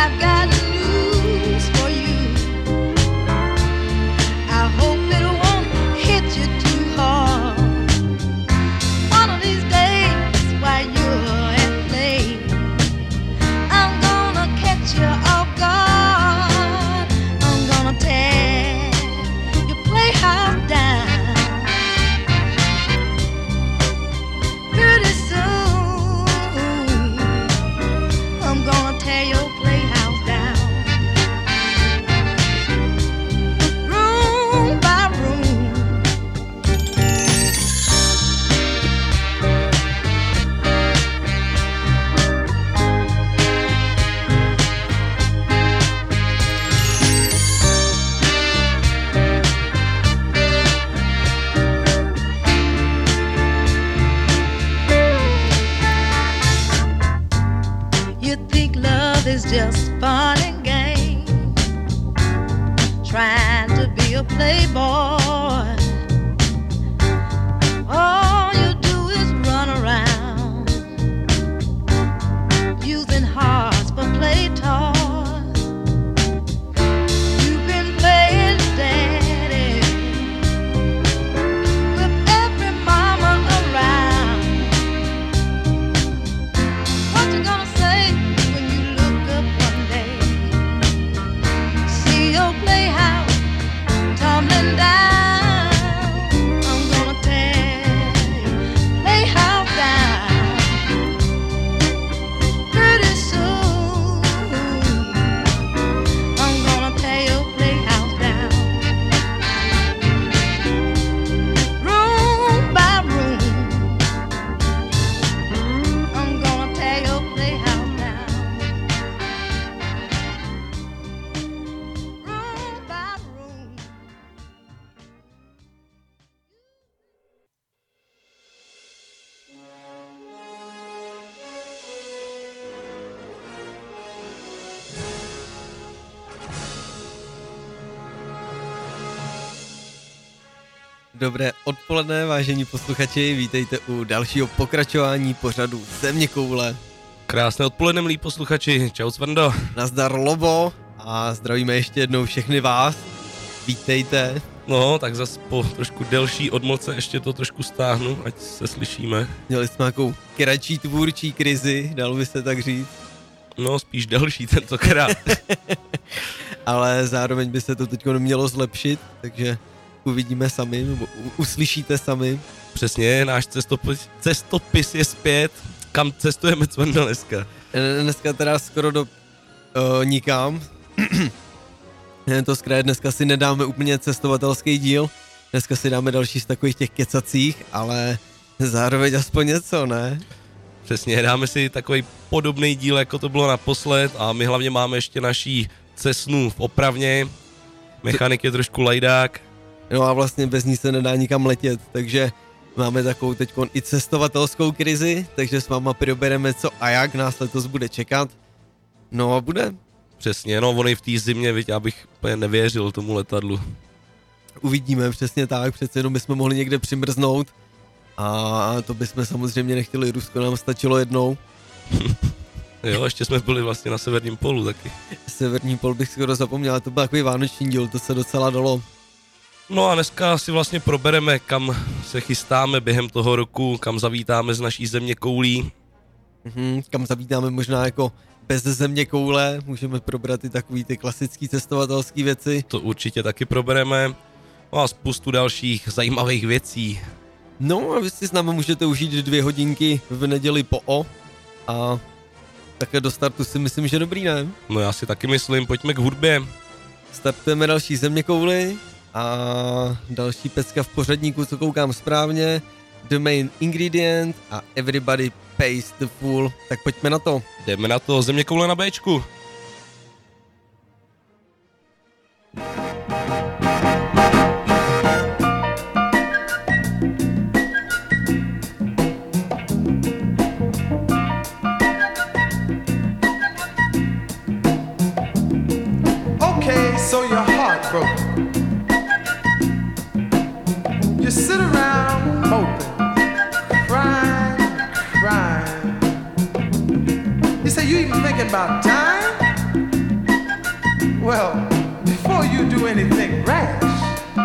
Dobré odpoledne, vážení posluchači, vítejte u dalšího pokračování pořadu Zeměkoule. Krásné odpoledne, milí posluchači, čau Svrndo. Nazdar Lobo a zdravíme ještě jednou všechny vás, vítejte. No, tak zas po trošku delší odmlce ještě to trošku stáhnu, ať se slyšíme. Měli jsme nějakou kratší tvůrčí krizi, dalo by se tak říct. No, spíš delší tentokrát. Ale zároveň by se to teď mělo zlepšit, takže uvidíme sami, nebo uslyšíte sami. Přesně, náš cestopis je zpět. Kam cestujeme Cvrndo dneska? Dneska teda skoro do nikam. To zkrátka dneska si nedáme úplně cestovatelský díl. Dneska si dáme další z takových těch kecacích, ale zároveň aspoň něco, ne? Přesně, dáme si takový podobný díl, jako to bylo naposled, a my hlavně máme ještě naší Cessnu v opravně. Mechanik je trošku lajdák. No a vlastně bez ní se nedá nikam letět, takže máme takovou teďkon i cestovatelskou krizi, takže s váma probereme, co a jak nás letos bude čekat. No a bude. Přesně, no ono i v té zimě, viď, já bych úplně nevěřil tomu letadlu. Uvidíme, přesně tak, přece jenom bychom mohli někde přimrznout a to bychom samozřejmě nechtěli, Rusko nám stačilo jednou. Jo, ještě jsme byli vlastně na severním polu taky. Severní pol bych skoro zapomněl, to byl takový vánoční díl, to se docela dalo. No a dneska si vlastně probereme, kam se chystáme během toho roku, kam zavítáme z naší zeměkoulí. Kam zavítáme možná jako bez zeměkoule, můžeme probrat i takový ty klasický cestovatelský věci. To určitě taky probereme. No a spoustu dalších zajímavých věcí. No a vy si s námi můžete užít 2 hodinky v neděli po a také do startu si myslím, že dobrý, ne? No já si taky myslím, pojďme k hudbě. Startujeme další zeměkouly a další pecka v pořadníku, co koukám správně, The Main Ingredient a Everybody Pays the Fool. Tak pojďme na to. Jdeme na to, zeměkoule na Bčku. Okay, so your heart broke. You sit around moping, crying. You say you even thinking about time? Well, before you do anything rash,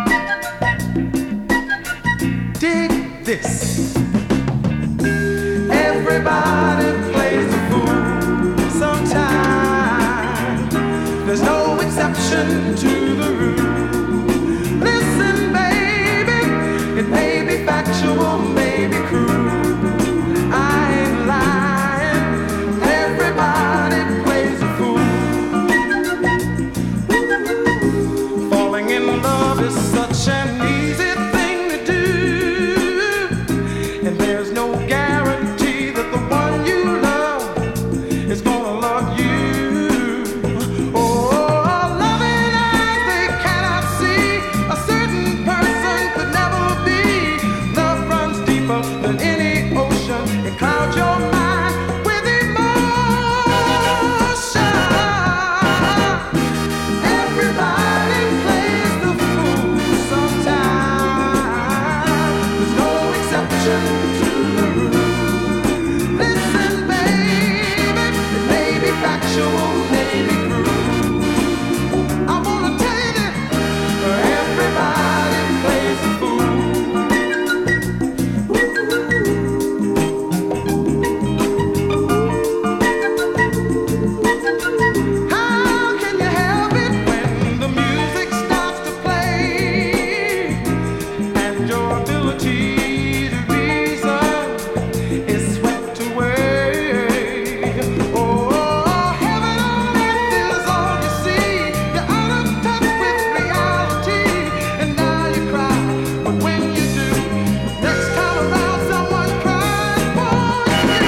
dig this. Everybody plays the fool sometime. There's no exception to the rule. Listen, baby, it may be factual, may be cruel. I ain't lying. Everybody plays the fool. Falling in love is such an easy thing to do, and there's no guarantee that the one you love is gonna love you. Oh, loving eyes they cannot see, a certain person could never be. Love runs deeper than any ocean, it clouds your mind with emotion. Everybody plays the fool sometime. There's no exception to the rule. Listen, baby, it may be factual, may be cruel. I wanna tell you that everybody plays the fool. How can you help it when the music starts to play and your ability to reason is swept away? Oh, heaven on earth is all you see. You're out of touch with reality, and now you cry. But when you do, next time around, someone cries for you.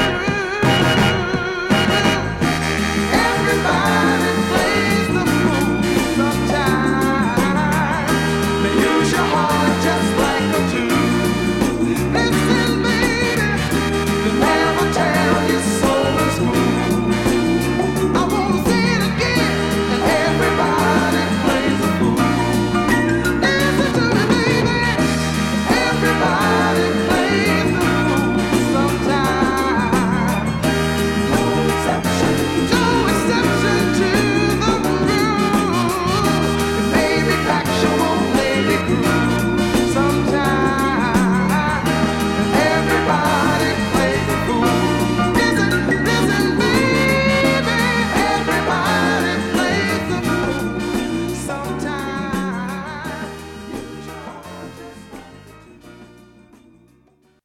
Everybody plays the fool sometime. They use your heart just like a tool. Listen, baby, they never tell your soul is cool. I wanna say it again, and everybody plays the fool. Listen to me, baby, everybody plays the fool sometime. No exception to the rule. It may be factual, may be cruel. Sometime everybody plays the fool. Listen, baby, everybody plays the fool. Sometime use your heart just like a tool.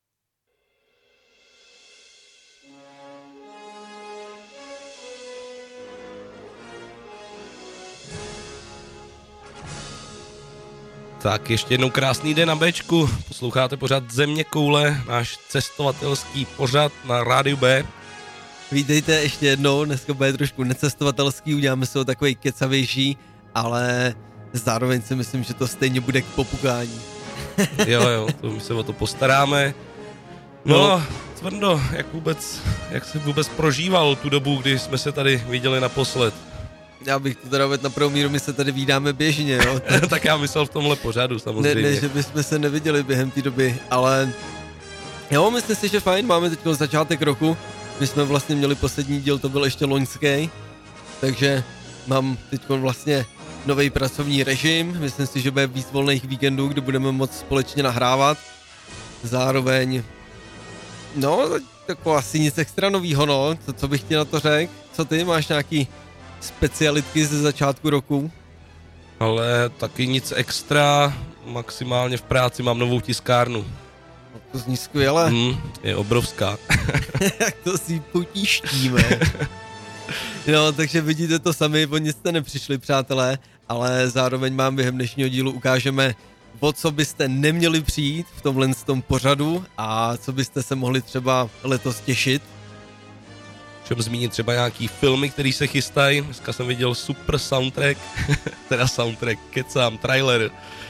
Tak ještě jednou krásný den na Bčku. Posloucháte pořád Země koule, náš cestovatelský pořad na Rádiu B. Vítejte ještě jednou, dneska bude trošku necestovatelský, uděláme si ho takovej kecavější, ale zároveň si myslím, že to stejně bude k popukání. Jo, to my se o to postaráme. No, Cvrndo, jak jsi vůbec prožíval tu dobu, kdy jsme se tady viděli naposled? Já bych to teda vedl na prvou míru, my se tady vídáme běžně, jo. Tak já myslel v tomhle pořadu samozřejmě. Ne, že bychom se neviděli během té doby, ale jo, myslím si, že fajn, máme teď začátek roku, my jsme vlastně měli poslední díl, to byl ještě loňský, takže mám teď vlastně nový pracovní režim, myslím si, že bude víc volných víkendů, kdy budeme moct společně nahrávat, zároveň, no, tako asi nic extra novýho, no, co bych ti na to řekl, co ty, máš nějaký specialitky ze začátku roku? Ale taky nic extra, maximálně v práci mám novou tiskárnu. To zní skvěle. Je obrovská. Jak to si potíštíme. No, takže vidíte to sami, o nic jste nepřišli, přátelé, ale zároveň vám během dnešního dílu ukážeme, o co byste neměli přijít v tomhle tom pořadu a co byste se mohli třeba letos těšit. Můžeme zmínit třeba nějaký filmy, který se chystají. Dneska jsem viděl super soundtrack, teda soundtrack, kecám, trailer.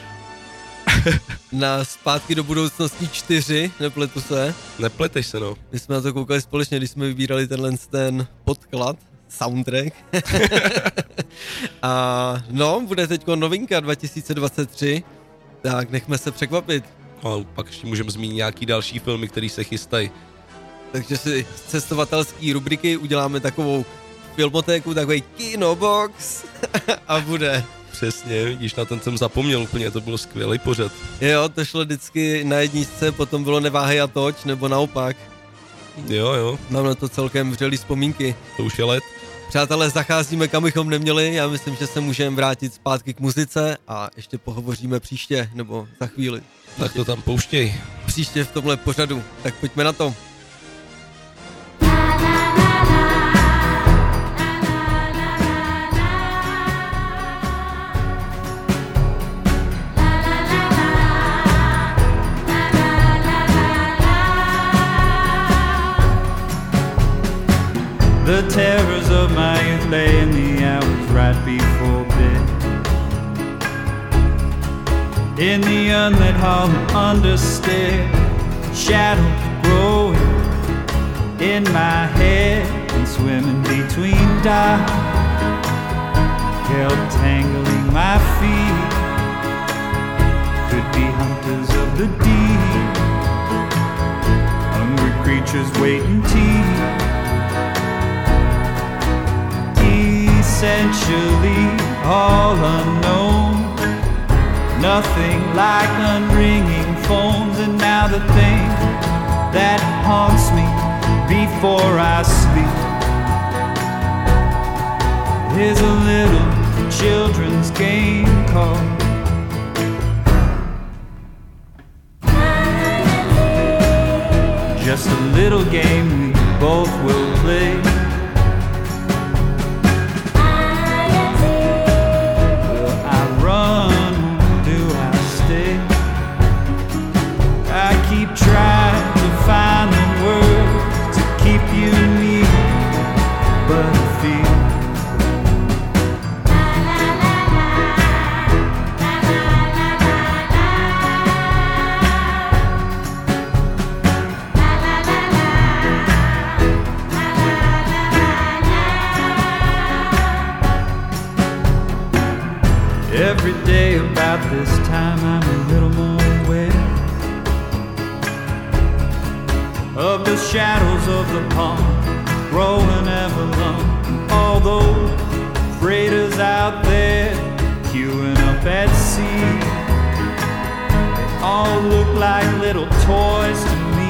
Na Zpátky do budoucnosti 4, nepletu se. Nepleteš se, no. My jsme na to koukali společně, když jsme vybírali ten podklad, soundtrack. A no, bude teďko novinka 2023, tak nechme se překvapit. A pak ještě můžeme zmínit nějaký další filmy, který se chystají. Takže si z cestovatelské rubriky uděláme takovou filmotéku, takový kinobox a bude. Přesně, vidíš, na ten jsem zapomněl úplně, to bylo skvělý pořad. Jo, to šlo vždycky na jedničce, potom bylo Neváhej a toč, nebo naopak. Jo, Mám na to celkem vřelý vzpomínky. to už je let. Přátelé, zacházíme kam bychom neměli, já myslím, že se můžeme vrátit zpátky k muzice a ještě pohovoříme příště, nebo za chvíli. Tak to tam pouštěj. Příště v tomhle pořadu, tak pojďme na to. The terrors of my youth lay in the hours right before bed. In the unlit hall understair, shadows growing in my head and swimming between dots, held tangling my feet. Could be hunters of the deep, hungry creatures waiting teeth. Essentially all unknown, nothing like unringing phones. And now the thing that haunts me before I sleep is a little children's game called just a little game we both will play. Trying to find the words to keep you near, but I feel every day about this time I'm a little more aware of the shadows of the pond growing ever long. All those freighters out there queuing up at sea, they all look like little toys to me.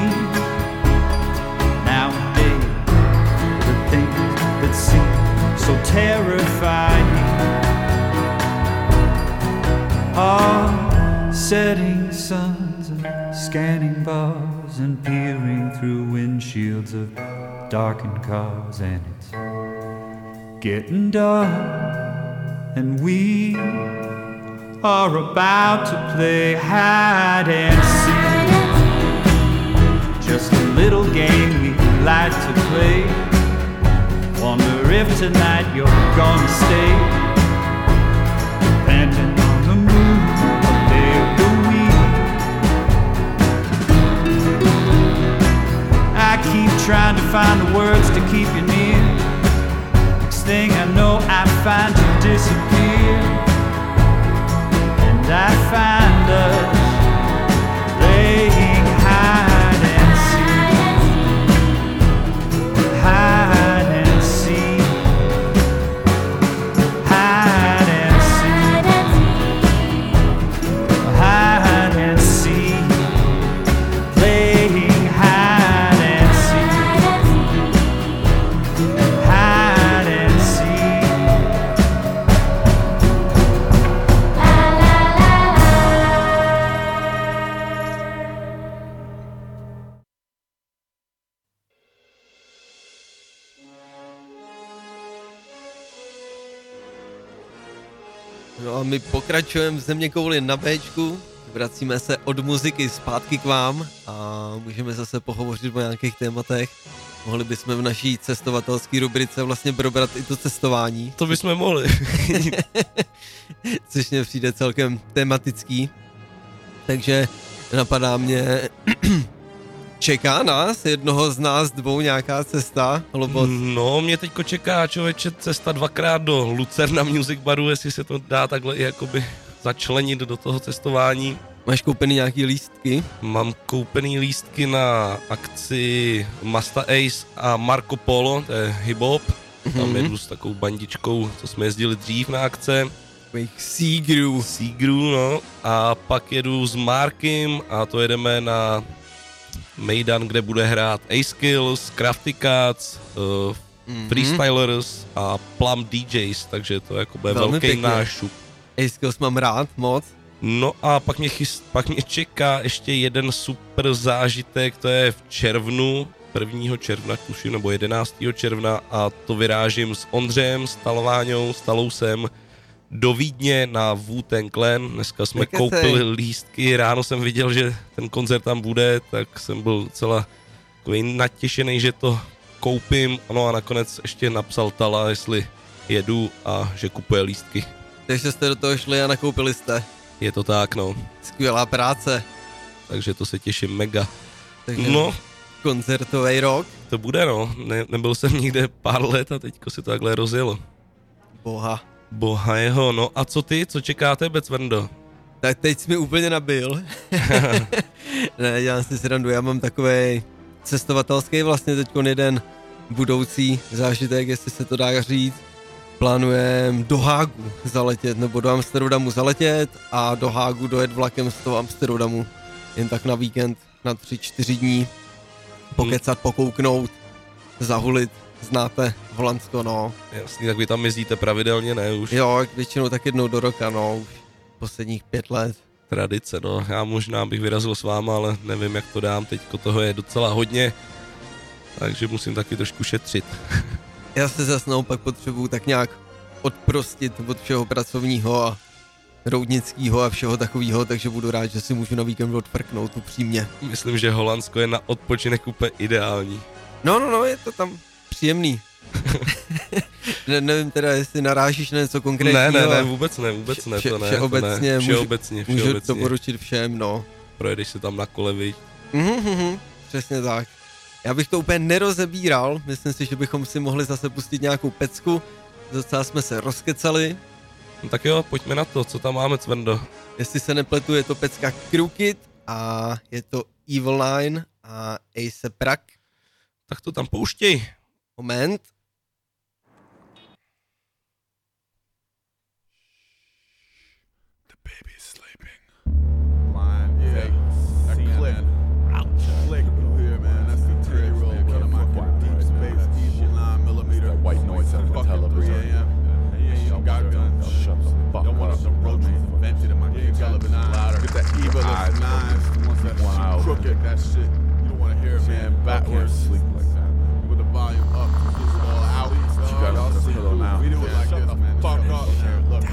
Nowadays, the things that seem so terrifying are setting suns and scanning bars and peering through windshields of darkened cars. And it's getting dark and we are about to play hide and seek. Just a little game we like to play. Wonder if tonight you're gonna stay. Depending on the mood, a day of the week. I keep trying to find the words to keep you near. Next thing I know, I find you disappear. And I find us playing hide and seek. Hide and seek. Hide and seek. Hide and seek. Playing hide and seek. Hide and seek. No a my pokračujeme v Zeměkouli na Bčku, vracíme se od muziky zpátky k vám a můžeme zase pohovořit o nějakých tématech. Mohli bychom v naší cestovatelské rubrice vlastně probrat i to cestování. To bychom mohli. Což mě přijde celkem tematický. Takže napadá mě, čeká nás jednoho z nás dvou nějaká cesta? Alebo... No, mě teďko čeká, člověče, cesta dvakrát do Lucerna Music Baru, jestli se to dá takhle i jakoby začlenit do toho cestování. Máš koupený nějaký lístky? Mám koupený lístky na akci Masta Ace a Marco Polo, to je hip-hop. Tam jedu s takovou bandičkou, co jsme jezdili dřív na akce. Takových Seagrů, no. A pak jedu s Markem a to jedeme na Mejdan, kde bude hrát A-Skills, Crafty Cats, Freestylers a Plum DJs, takže to jako bude Velmi velký pěkně. nášup. A-Skills mám rád moc. No a pak mě čeká ještě jeden super zážitek, to je v červnu, 1. června, tuším, nebo 11. června a to vyrážím s Ondřejem, s Talováňou, s Talousem do Vídně na Wu-Tang Clan. Dneska jsme koupili lístky, ráno jsem viděl, že ten koncert tam bude, tak jsem byl celá takový natěšený, že to koupím. No a nakonec ještě napsal Tala, jestli jedu a že kupuje lístky. Takže jste do toho šli a nakoupili jste. Je to tak, no. Skvělá práce. Takže to se těším mega. Takže no, koncertový rok. To bude, no. Nebyl jsem nikde pár let a teďko se to takhle rozjelo. Boha jeho, no a co ty? Co čeká tebe, Cvrndo? Tak teď jsi mi úplně nabil. Ne, dělám si srandu, já mám takovej cestovatelský vlastně teďkon jeden budoucí zážitek, jestli se to dá říct. Plánujem do Hágu zaletět, nebo do Amsterdamu zaletět a do Hágu dojet vlakem z toho Amsterdamu. Jen tak na víkend, na 3-4 dní. Pokecat, pokouknout, zahulit, znáte Holandsko, no. Jasný, tak vy tam jezdíte pravidelně, ne už? Jo, většinou tak jednou do roka, no, už posledních 5 let. Tradice, no. Já možná bych vyrazil s váma, ale nevím, jak to dám, teďko toho je docela hodně, takže musím taky trošku šetřit. Já se zase naopak potřebuju tak nějak odprostit od všeho pracovního a roudnického a všeho takového, takže budu rád, že si můžu na víkend odfrknout upřímně. Myslím, že Holandsko je na odpočinek úplně ideální. No, je to tam příjemný. Nevím teda, jestli narážíš na něco konkrétního. Ne, vůbec ne, to ne. Všeobecně, všeobecně. Můžu doporučit všem, no. Projedeš se tam na kole, viď? Přesně tak. Já bych to úplně nerozebíral, myslím si, že bychom si mohli zase pustit nějakou pecku, docela jsme se rozkecali. No tak jo, pojďme na to, co tam máme, Cvrndo. Jestli se nepletu, je to pecka Crooked a je to Evil Nine a Ace Prak. Tak to tam pouštěj. Moment. The baby's sleeping. Line, yeah. That click. Click. Here, man. That's the Terry roll. One of my deep space, deep 9mm. That white noise out of the television. Got guns. Shut the fuck up. Don't want some roaches invented in my caliber 9. Get that evil 9. The ones that crooked. That shit. You don't want to hear it, man. Backwards. Sleep like that. With the volume up, just all out. You got on the pillow now. We do it like this, man. Fuck up, man. Look.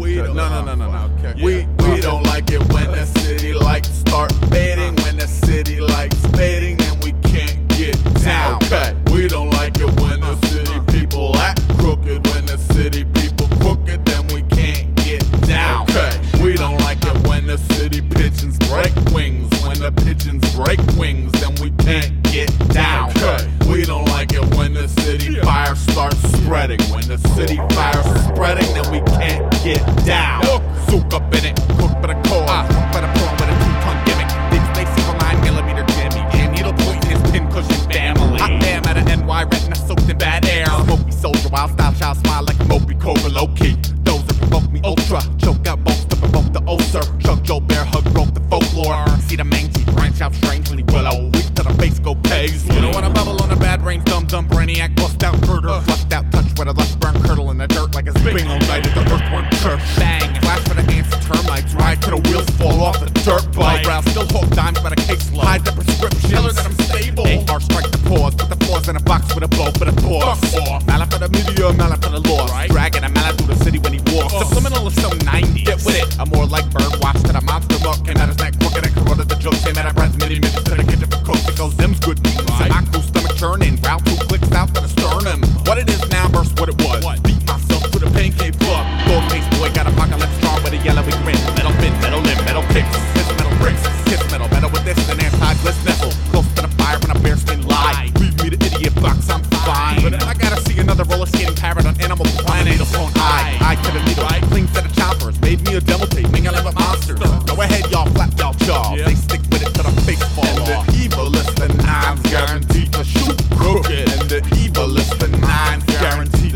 We don't like it when the city lights start fading. When the city lights fading, then we can't get down. Okay. We don't like it when the city people act crooked. When the city people crooked, then we can't get down. Okay. We don't like it when the city pigeons break wings. When the pigeons break wings, then we can't get down. Okay. We don't like it when the city fire starts spreading. When the city fire spreading, then we can't get down. Soak up in it, cook for the core, cook for the prawn with a 2-ton gimmick. Deep space evil 9mm Jimmy, and needle point in his pincushion family. Hot damn at an NY retina soaked in bad air. Smoky soldier, wild style child, smile like a Moby Cobra low key. Those that provoke me ultra, choke out bolts to provoke the ulcer. Chuck Joe Bear, hug broke the folklore. See the mangy branch out strangely willow. Weak to the face go paisley. You don't wanna bubble on a bad brain, dumb brainiac, bust out murder. Flushed out touch with a lush burn curdle in the dirt like a bingo night at the earthworm church. Bang, flash for the ants and termites. Ride till the wheels fall off the dirt bike. Brow still hooked dimes by the case low. Hide the prescription, tell her that I'm stable. AR strike the pause, put the paws in a box with a bow for the pause. Mallet for the media, mallet for the lost. Dragging a mallet through the city when he walks. Subliminal is so 90s. Get with it. I'm more like bird watch that a monster muck came out his neck crooked and corroded the joke. Came out of breath, mini minutes to the kitchen for cooks. It goes, them's good news. Right. My cool stomach churning, route 2 clicks out to the sternum. What it is now versus what it was. Beat myself to the pancake plug. Gold face boy got apocalypse strong with a yellowy grin. Metal fin, metal limb, metal kicks. Kiss metal bricks, kiss metal with this and anti-gliss nestle. Close to the fire when a bearskin lie. Leave me the idiot box, I'm fine. But I gotta see another roller skating parrot on Animal Planet. The phone eye to the needle. Clean set of choppers, made me a demo tape, mingling with monsters. Go ahead, y'all, flap y'all jaws. They stick with it till the face fall off. And the evilest, the 9's guaranteed to shoot crooked. And the evilest, the 9's guaranteed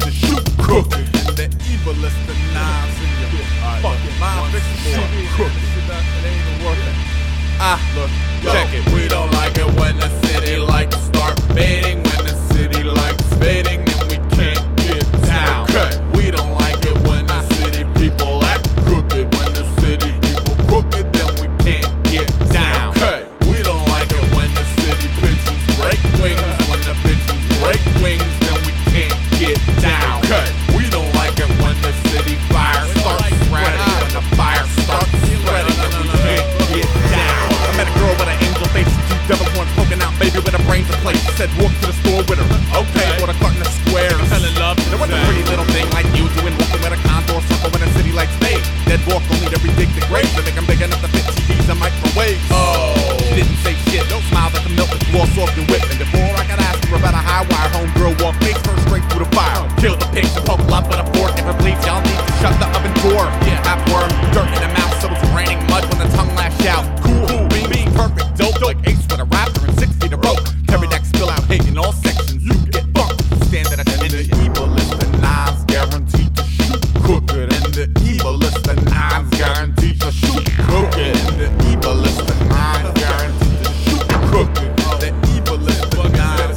Kill the pigs and poke love with a fork. Never bleeds, y'all need to shut the oven door. Have worm, dirt in the mouth, so it's raining mud when the tongue lash out. Cool, being perfect, dope like Ace with a raptor and 6 feet of rope. Carry that spill out hate in all sections. You get bumped. Stand at attention. And the evil is the knives guaranteed to shoot crooked. And the evil is the knives guaranteed to shoot crooked. And the evil is the knives guaranteed to shoot crooked. The evil is the knives.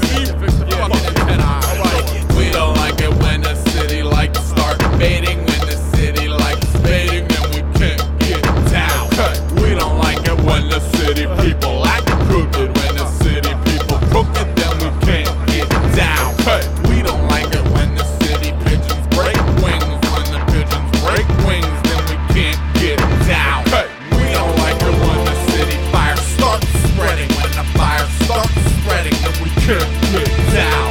We don't like it when the city lights start fading. When the city lights fading, then we can't get down. We don't like it when the city people act crooked. When the city people crooked, then we can't get down. We don't like it when the city pigeons break wings. When the pigeons break wings, then we can't get down. We don't like it when the city fire starts spreading. When the fire starts spreading, then we can't get down.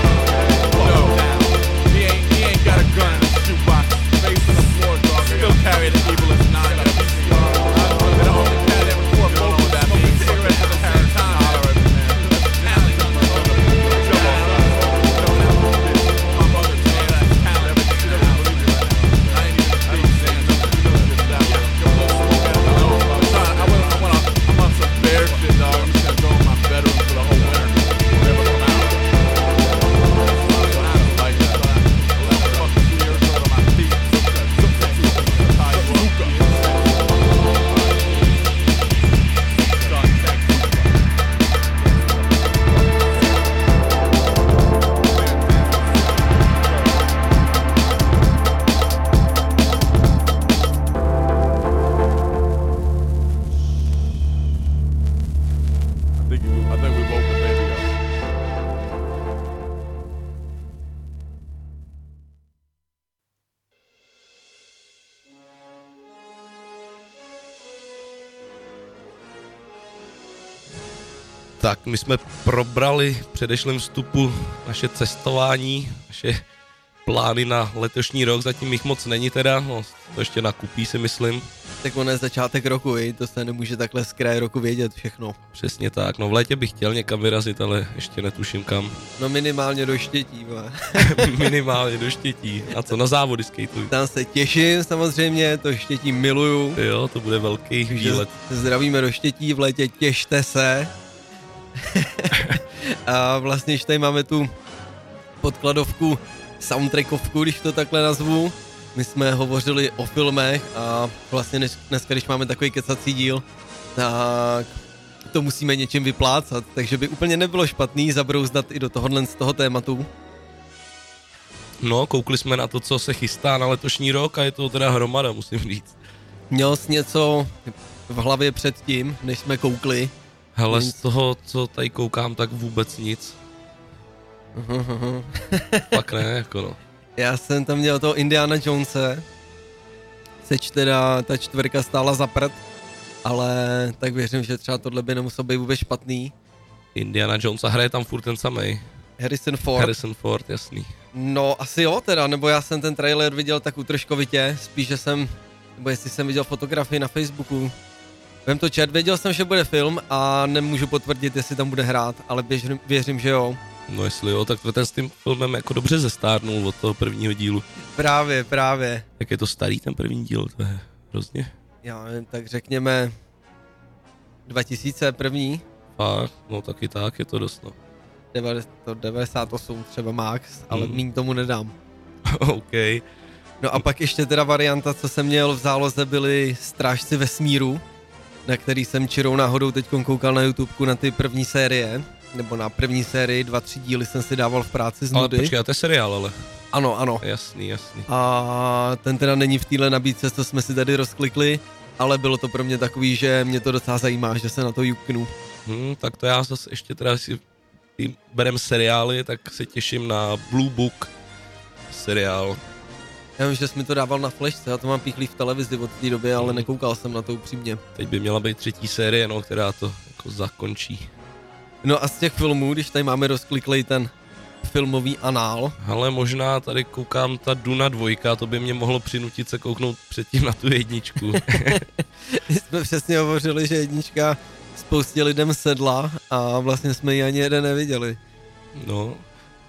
He ain't got a gun in the shoebox. Face on the floor, dog. Still carry the evil as nine. They don't only carry them for both of that. Smoking cigarettes at the same time. I'm on some bear shit, dog. I'm just gonna go in my bedroom for the whole winter. Never come out. Like that. 2 years old on my feet. I think we woke the baby up. Tak, my jsme probrali v předešlém vstupu naše cestování, naše plány na letošní rok, zatím jich moc není teda, no, to ještě nakupí si myslím. Tak ono je začátek roku, to se nemůže takhle z kraje roku vědět všechno. Přesně tak, no v létě bych chtěl někam vyrazit, ale ještě netuším kam. No minimálně do Štětí, Minimálně do Štětí. A co, na závody skateuj? Tam se těším samozřejmě, to Štětí miluju. Jo, to bude velký výlet. Zdravíme do Štětí, v létě těšte se. A vlastně, když tady máme tu podkladovku, soundtrackovku, když to takhle nazvu. My jsme hovořili o filmech a vlastně dneska, když máme takový kecací díl, tak to musíme něčím vyplácat, takže by úplně nebylo špatný zabrouzdat i do tohohle z toho tématu. No, koukli jsme na to, co se chystá na letošní rok a je to teda hromada, musím říct. Měl jsi něco v hlavě předtím, než jsme koukli? Hele, z toho, co tady koukám, tak vůbec nic. Pak ne, jako no. Já jsem tam měl toho Indiana Jonese, seč teda ta 4 stála za prd, ale tak věřím, že třeba tohle by nemuselo být vůbec špatný. Indiana Jones a hraje tam furt ten samej. Harrison Ford, jasný. No asi jo teda, nebo já jsem ten trailer viděl tak útržkovitě, spíš, že jsem, nebo jestli jsem viděl fotografii na Facebooku. Vem to čet, věděl jsem, že bude film a nemůžu potvrdit, jestli tam bude hrát, ale věřím, že jo. No jestli jo, tak ten s tím filmem jako dobře zestárnul od toho prvního dílu. Právě. Jak je to starý ten první díl, to je hrozně. Já tak řekněme 2001. Fakt, no taky tak, je to dost no. 98 třeba max, ale míň tomu nedám. OK. No a pak ještě teda varianta, co jsem měl v záloze, byly Strážci vesmíru, na který jsem čirou náhodou teď koukal na YouTubeku na ty první série, nebo na první sérii, 2-3 díly jsem si dával v práci z nudy. Ale počkej, to je seriál, ale. Ano. Jasný. A ten teda není v téhle nabídce, co jsme si tady rozklikli, ale bylo to pro mě takový, že mě to docela zajímá, že se na to juknu. Tak to já zase ještě teda si berem seriály, tak se těším na Blue Book seriál. Já vím, že jsi mi to dával na flashce, já to mám píchlý v televizi od té doby, ale nekoukal jsem na to upřímně. Teď by měla být 3. série, no, která to jako zakončí. No a z těch filmů, když tady máme rozkliklej ten filmový anál. Ale možná tady koukám ta Duna 2, to by mě mohlo přinutit se kouknout předtím na tu 1. Jsme přesně hovořili, že 1 spoustě lidem sedla a vlastně jsme ji ani jeden neviděli. No,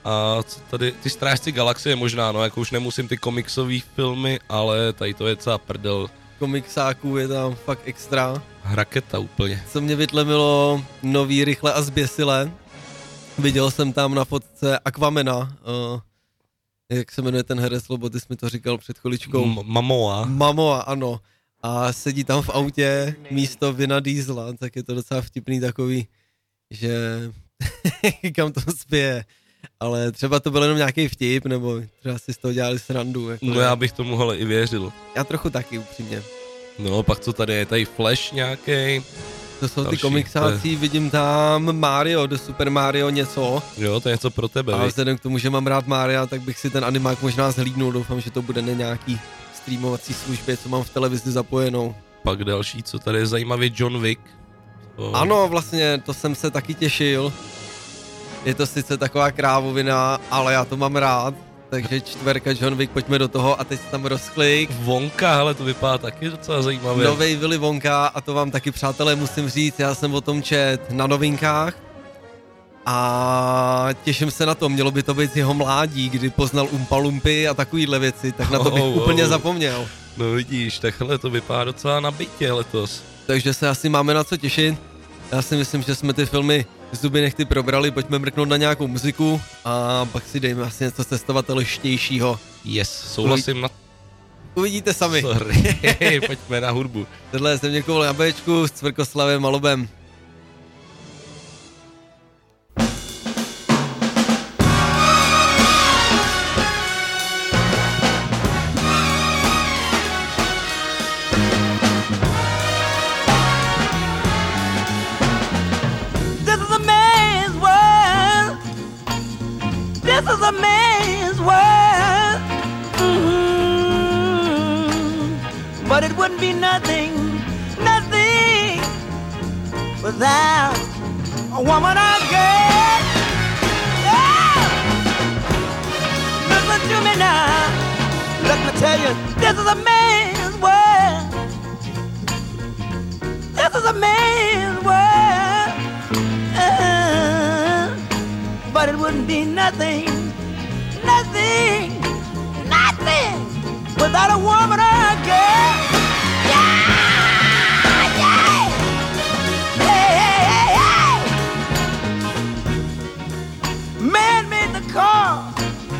A co tady, ty Strážci galaxie možná, no, jako už nemusím ty komiksové filmy, ale tady to je celá prdel. Komiksáků je tam fakt extra. Raketa úplně. Co mě vytlemilo nový Rychle a zběsile. Viděl jsem tam na fotce Aquamena, jak se jmenuje ten herec, lebo ty jsi mi to říkal před chviličkou. Momoa, ano. A sedí tam v autě místo Vina Diesela, tak je to docela vtipný takový, že kam to spěje. Ale třeba to byl jenom nějaký vtip, nebo třeba si z toho dělali srandu. Jako no já bych tomu hele i věřil. Já trochu taky, upřímně. No pak co tady je, tady Flash nějaký. To jsou ty komiksáci, vidím tam Mario, do Super Mario něco. Jo, to je něco pro tebe. A vzhledem k tomu, že mám rád Maria, tak bych si ten animák možná zhlídnul, doufám, že to bude na nějaký streamovací službě, co mám v televizi zapojenou. Pak další, co tady je zajímavý, John Wick. Ano, vlastně, to jsem se taky těšil. Je to sice taková krávovina, ale já to mám rád. Takže 4 John Wick, pojďme do toho a teď tam rozklik. Wonka, hele, to vypadá taky docela zajímavě. Novej Willy Wonka a to vám taky, přátelé, musím říct, já jsem o tom čet na novinkách a těším se na to, mělo by to být z jeho mládí, kdy poznal Umpa Lumpy a takovýhle věci, tak na to bych úplně zapomněl. No vidíš, takhle to vypadá docela nabitě letos. Takže se asi máme na co těšit. Já si myslím, že jsme ty filmy zuby nechty probrali, pojďme mrknout na nějakou muziku a pak si dejme asi něco cestovatelštějšího. Yes, souhlasím na... Uvidíte sami. Sorry, pojďme na hudbu. Tohle je Zeměkoul na Bčku s Cvrkoslavem a Lobem. This is a man's world, but it wouldn't be nothing without a woman or girl. Yeah. Listen to me now, let me tell you, this is a man's world. This is a man's world. But it wouldn't be nothing without a woman or a girl. Yeah, yeah, hey, hey, hey, hey. Man made the car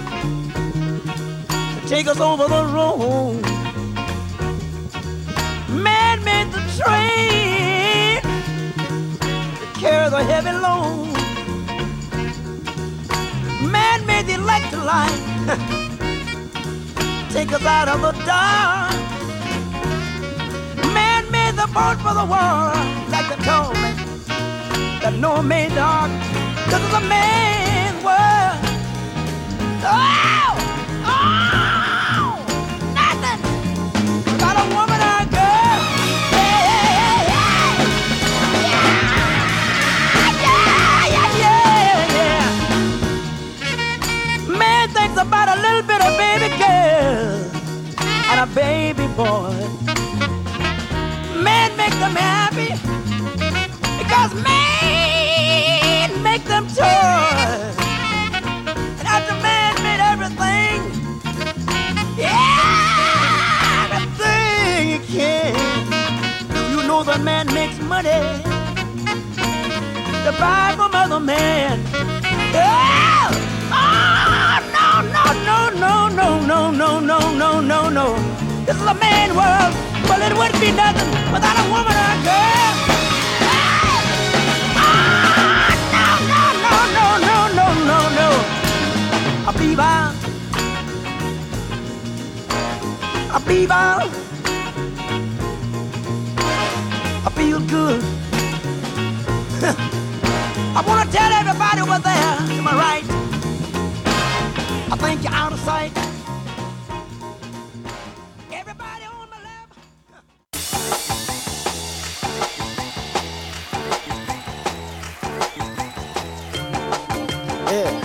to take us over the road. Man made the train to carry the heavy load. Man made the electric light take us out of the dark. Man made the boat for the water, like they told me that Noah made the ark. This is a man's world. Oh, oh, nothing without a woman or a girl. Hey, hey, hey, yeah, yeah, yeah, yeah, yeah. Man thinks about a little bit of baby girl and a baby boy. Man make them happy because man make them toys. And after man made everything, yeah, everything he can. Do you know that man makes money to buy from other man? Oh, oh, no, no, no, no, no, no, no, no, no, no. This is a man world, but it wouldn't be nothing without a woman or a girl. Oh, no, no, no, no, no, no, no, no. I believe I feel good. I want to tell everybody over there, am I right? I think you're out of sight. Everybody on my left. Yeah.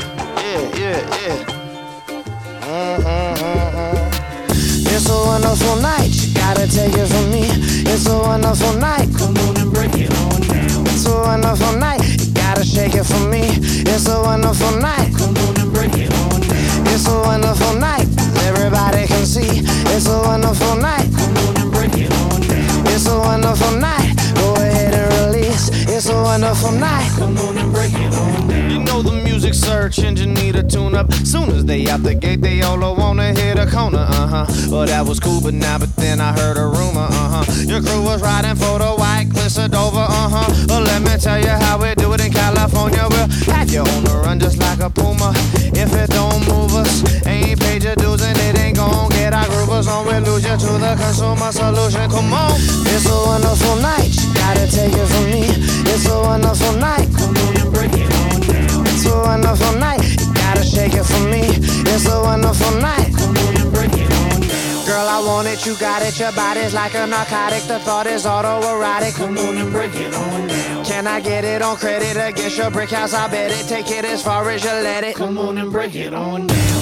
It's a wonderful night, you gotta take it from me. It's a wonderful night, come on and break it on down. It's a wonderful night, you gotta shake it for me. It's a wonderful night. Come on and break it on down. It's a wonderful night. Everybody can see. It's a wonderful night. Come on and break it on down. It's a wonderful night. Go ahead and release. It's a wonderful night. Come on and break it on down. You know the music search engine need a tune up. Soon as they out the gate, they all wanna hit a corner. Well, that was cool, but then I heard a rumor. Your crew was riding for the white Clifford over. Well, let me tell you how we do it in California. We'll have you on the run just like a puma. If it don't move us, ain't paid your dues and it ain't gon' get our groovers on. We'll lose you to the consumer solution. Come on. It's a wonderful night. You gotta take it from me. It's a wonderful night. Come on and break it on down. It's a wonderful night. You gotta shake it for me. It's a wonderful night. Come on and break it on down. Girl, I want it, you got it. Your body's like a narcotic. The thought is autoerotic. Come on and break it on down. Can I get it on credit against your brick house? I bet it. Take it as far as you let it. Come on and break it on down.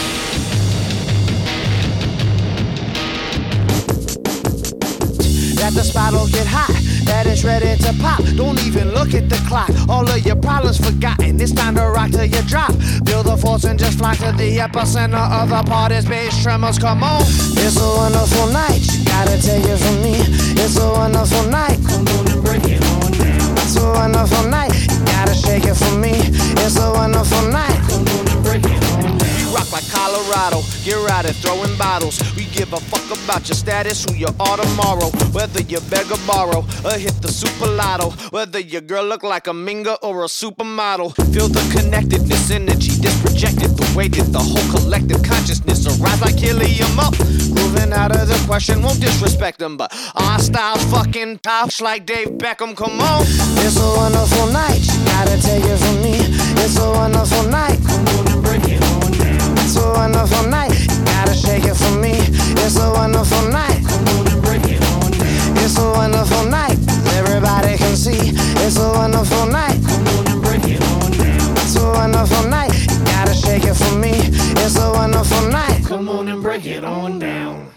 That the spot'll get hot, that it's ready to pop. Don't even look at the clock, all of your problems forgotten. It's time to rock till you drop. Feel the force and just fly to the epicenter of the party's bass tremors. Come on. It's a wonderful night, you gotta take it from me. It's a wonderful night. Come on and break it on down. It's a wonderful night, you gotta shake it for me. It's a wonderful night. Come on and break it on down. We rock like Colorado, get right at throwing bottles. We give a fuck about your status, who you are tomorrow. Whether you beg or borrow, or hit the super lotto. Whether your girl look like a minga or a supermodel. Feel the connectedness, energy that's projected. The way that the whole collective consciousness arise like helium up. Grooving out of the question, won't disrespect them, but our style's fucking tops like Dave Beckham. Come on. It's a wonderful night, you gotta take it from me. It's a wonderful night. Come on and break it on down. It's a wonderful night, you gotta shake it for me. It's a wonderful night. Come on and break it on down. It's a wonderful night, everybody can see. It's a wonderful night. Come on and break it on down. It's a wonderful night, you gotta shake it for me. It's a wonderful night. Come on and break it on down.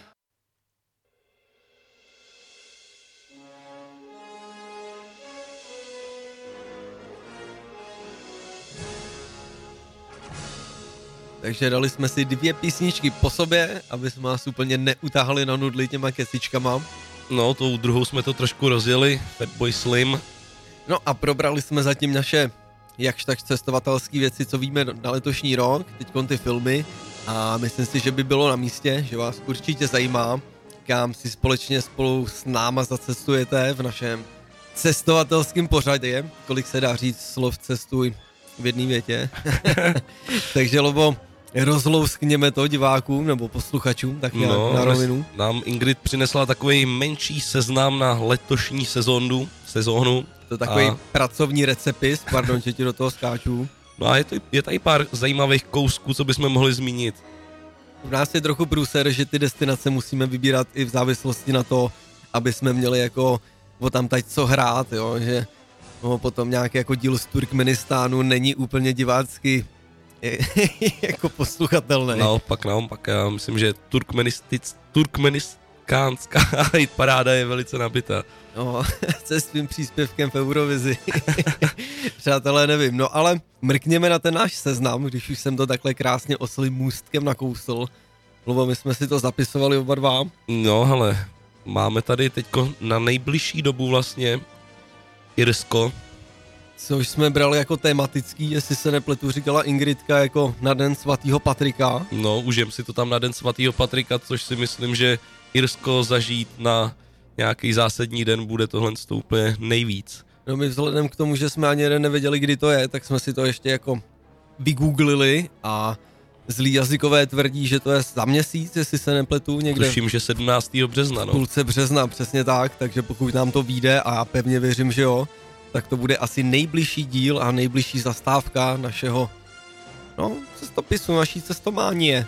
Takže dali jsme si 2 písničky po sobě, aby jsme vás úplně neutáhli na nudli těma kecičkama. No, tou druhou jsme to trošku rozjeli, Fatboy Slim. No a probrali jsme zatím naše jakž tak cestovatelské věci, co víme na letošní rok, teďkon ty filmy. A myslím si, že by bylo na místě, že vás určitě zajímá, kam si společně spolu s náma zacestujete v našem cestovatelském pořadě. Kolik se dá říct slov cestuj v jedné větě. Takže Lobo, rozlouskněme to divákům nebo posluchačům, tak nějak na rovinu. Nám Ingrid přinesla takový menší seznam na letošní sezónu. To takový pracovní recepis, pardon, že ti do toho skáču. No a je tady pár zajímavých kousků, co bychom mohli zmínit. U nás je trochu průser, že ty destinace musíme vybírat i v závislosti na to, aby jsme měli jako o tam teď co hrát, jo, že no, potom nějaký jako díl z Turkmenistánu není úplně divácky jako posluchatelný. Naopak, já myslím, že turkmenistánská paráda je velice nabitá. No, se svým příspěvkem v Eurovizi. Přátelé, nevím, no ale mrkněme na ten náš seznam, když už jsem to takhle krásně oslým můstkem nakousl. Lobo, my jsme si to zapisovali oba dva. No, hele, máme tady teďko na nejbližší dobu vlastně Irsko. Což jsme brali jako tematický, jestli se nepletu, říkala Ingridka, jako na den svatého Patrika. No, užijem si to tam na den svatého Patrika, což si myslím, že Irsko zažít na nějaký zásadní den bude tohle úplně nejvíc. No my vzhledem k tomu, že jsme ani jeden nevěděli, kdy to je, tak jsme si to ještě jako vygooglili a zlí jazykové tvrdí, že to je za měsíc, jestli se nepletu někde. Tuším, že 17. března, no. Půlce března, přesně tak, takže pokud nám to vyjde a já pevně věřím, že jo, tak to bude asi nejbližší díl a nejbližší zastávka našeho, no, cestopisu, naší cestománie.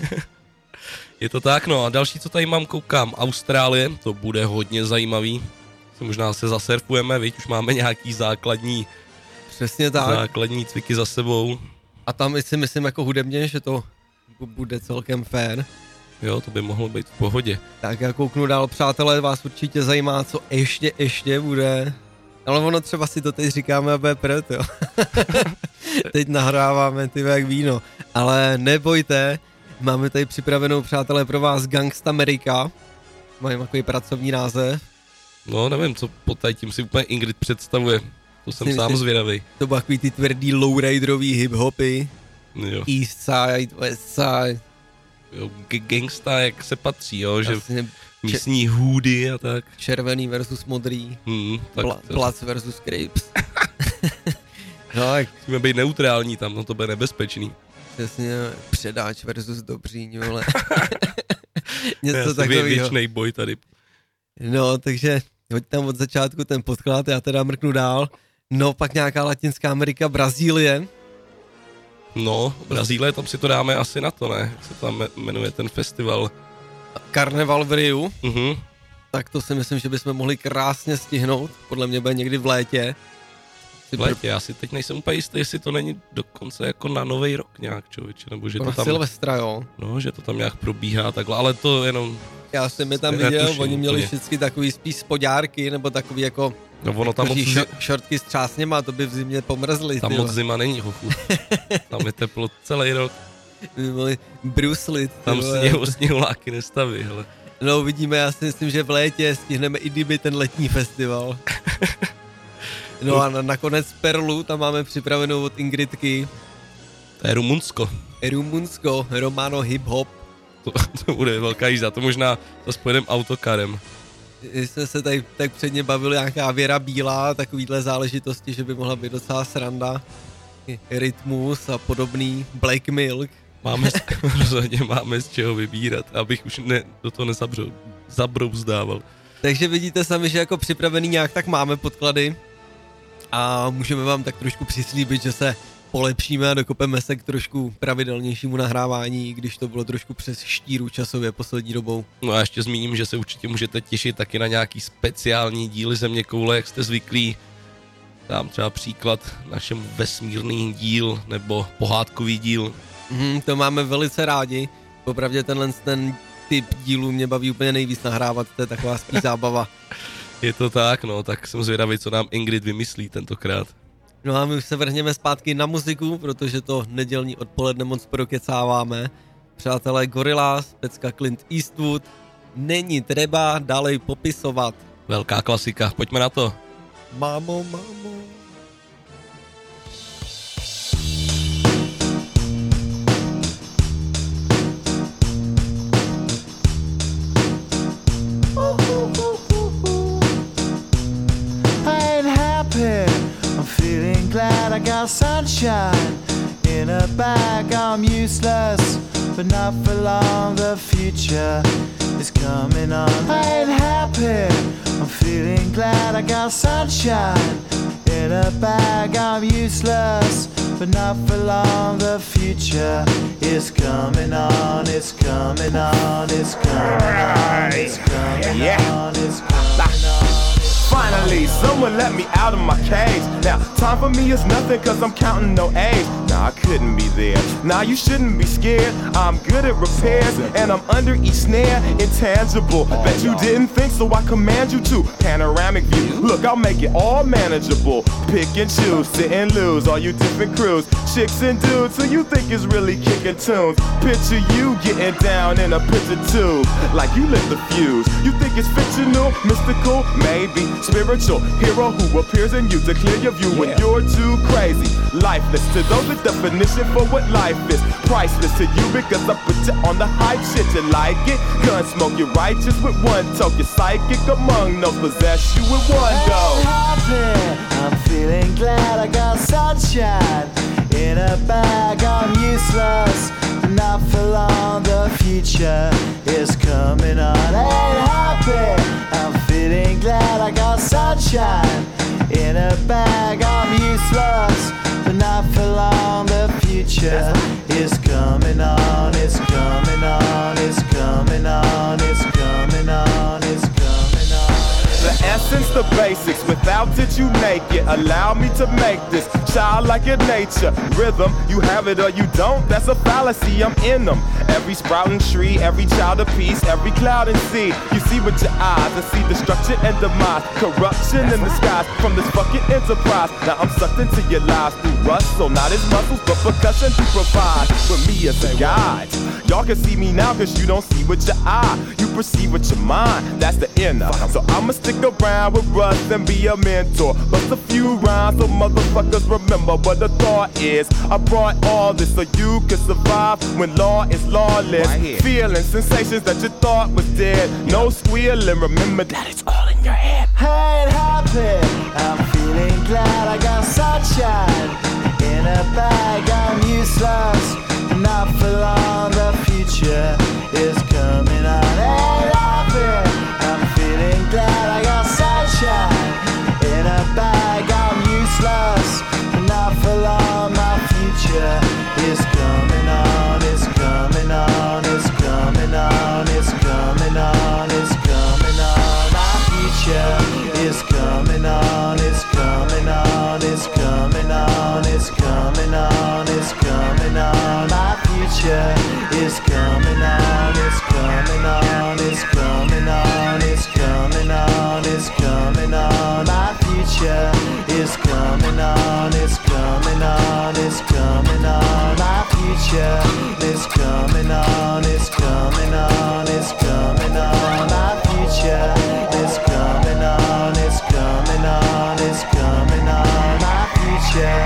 Je to tak, no a další, co tady mám, koukám, Austrálie, to bude hodně zajímavý. Možná se zasurfujeme, viď, už máme nějaký základní, přesně tak. Základní cviky za sebou. A tam si myslím jako hudebně, že to bude celkem fair. Jo, to by mohlo být v pohodě. Tak já kouknu dál, přátelé, vás určitě zajímá, co ještě bude Ale ono třeba si to teď říkáme a bude proto. Teď nahráváme ty jak víno. Ale nebojte, máme tady připravenou, přátelé, pro vás Gangsta America. Mají takový pracovní název. No, nevím, co pod tím si úplně Ingrid představuje. To jsem sám zvědavý. To byl takový ty tvrdý lowriderový hip-hopy. Jo. East side, west side. Jo, gangsta, jak se patří, jo, že Vlastně místní hůdy a tak. červený versus modrý. Tak Bloods versus Cripes. No, tak musíme být neutrální tam, no to bude nebezpečný. přesně předáč versus dobříň, vole. Něco Asi takového. věčnej boj tady. No, takže hoď tam od začátku ten podklad, já teda mrknu dál. No, pak nějaká Latinská Amerika, Brazílie. No, Brazílie, tam si to dáme asi na to, ne? Jak se tam jmenuje ten festival? Karneval v Riu. Tak to si myslím, že bychom mohli krásně stihnout. Podle mě bude někdy v létě. V létě, já si teď nejsem úplně jistý, jestli to není dokonce jako na Nový rok nějak, člověče, nebo že to tam... Silvestra, jo. No, že to tam nějak probíhá takhle, ale to jenom... Já jsem je tam viděl, oni měli vždycky takový spíš spodárky, nebo takový jako... No ono tam moc... šortky s třásněma, to by v zimě pomrzly. Tam moc zima není, hochu. Tam je teplo celý rok. Bruslit. Tam sněhuláky nestaví, hele. No uvidíme, já si myslím, že v létě stihneme i kdyby ten letní festival. No a nakonec Perlu, tam máme připravenou od Ingridky. To je Rumunsko. Rumunsko, Romano Hip Hop. To bude velká jízda, to možná zase pojedeme autokarem. Jsme se tady tak předně bavili nějaká Věra Bílá, takovýhle záležitosti, že by mohla být docela sranda. Rytmus a podobný, Black Milk. Rozhodně máme z čeho vybírat, abych už do toho zabrouzdával. Takže vidíte sami, že jako připravený nějak tak máme podklady a můžeme vám tak trošku přislíbit, že se polepšíme a dokopeme se k trošku pravidelnějšímu nahrávání, když to bylo trošku přes štíru časově poslední dobou. No a ještě zmíním, že se určitě můžete těšit taky na nějaký speciální díly Zeměkoule, jak jste zvyklí. Dám třeba příklad našemu vesmírný díl nebo pohádkový díl. To máme velice rádi. Popravdě ten typ dílů mě baví úplně nejvíc nahrávat, to je taková spíš zábava. Je to tak, no, tak jsem zvědavý, co nám Ingrid vymyslí tentokrát. No a my už se vrhneme zpátky na muziku, protože to nedělní odpoledne moc prokecáváme. Přátelé, Gorillaz, pecka Clint Eastwood, není třeba dalej popisovat. Velká klasika, pojďme na to. Mámo. Glad I got sunshine in a bag. I'm useless, but not for long. The future is coming on. I ain't happy. I'm feeling glad I got sunshine in a bag. I'm useless, but not for long. The future is coming on. It's coming on. It's coming on. It's coming on. It's coming on. Finally, someone let me out of my cage. Now, time for me is nothing cause I'm counting no A's. Nah, I couldn't be there. Nah, you shouldn't be scared. I'm good at repairs and I'm under each snare. Intangible. Bet you didn't think, so I command you to. Panoramic view. Look, I'll make it all manageable. Pick and choose, sit and lose. All you different crews, chicks and dudes who you think is really kicking tunes. Picture you getting down in a picture tube, like you lit the fuse. You think it's fictional, mystical, maybe. Spiritual hero who appears in you to clear your view when you're too crazy. Lifeless to those, the definition for what life is. Priceless to you because I put you on the hype shit. You like it? Gun smoke, you're righteous with one toke. You're psychic among those, possess you with one go. I'm feeling glad I got sunshine in a bag. I'm useless, not for long. The future is coming on. I ain't happy. I'm feeling glad I got sunshine in a bag. I'm useless, but not for long. The future is coming on. It's coming on. It's coming on. It's coming on. It's coming on. The essence, the basics. Without it, you naked. Allow me to make this childlike in nature. Rhythm, you have it or you don't. That's a fallacy. I'm in them. Every sprouting tree, every child of peace, every cloud and sea. You see with your eyes and see destruction and demise, corruption in the skies from this fucking enterprise. Now I'm sucked into your lives through rust, so not as muscles, but percussion to provide with me as a guide. Y'all can see me now cause you don't see with your eye. You perceive with your mind, that's the inner. So I'ma stick around with Russ and be a mentor. Bust a few rhymes so motherfuckers remember what the thought is. I brought all this so you can survive when law is lawless. Feeling sensations that you thought was dead. No squealing, remember that it's all in your head. I ain't happy, I'm feeling glad I got sunshine in a bag. I'm useless, not for long, the future is coming on. Ain't happy, I'm feeling glad I got sunshine in a bag. I'm useless, not for long, my future is coming on. It's coming on, it's coming on, it's coming on, it's coming on. My future is coming on, it's coming on, it's coming on, it's coming on, it's coming on. My future is coming on, it's coming on, it's coming on, it's coming on, it's coming on. My future is coming on, it's coming on, it's coming on. My future is coming on, it's coming on, it's coming on. My future is coming on, it's coming on, it's coming on. My future.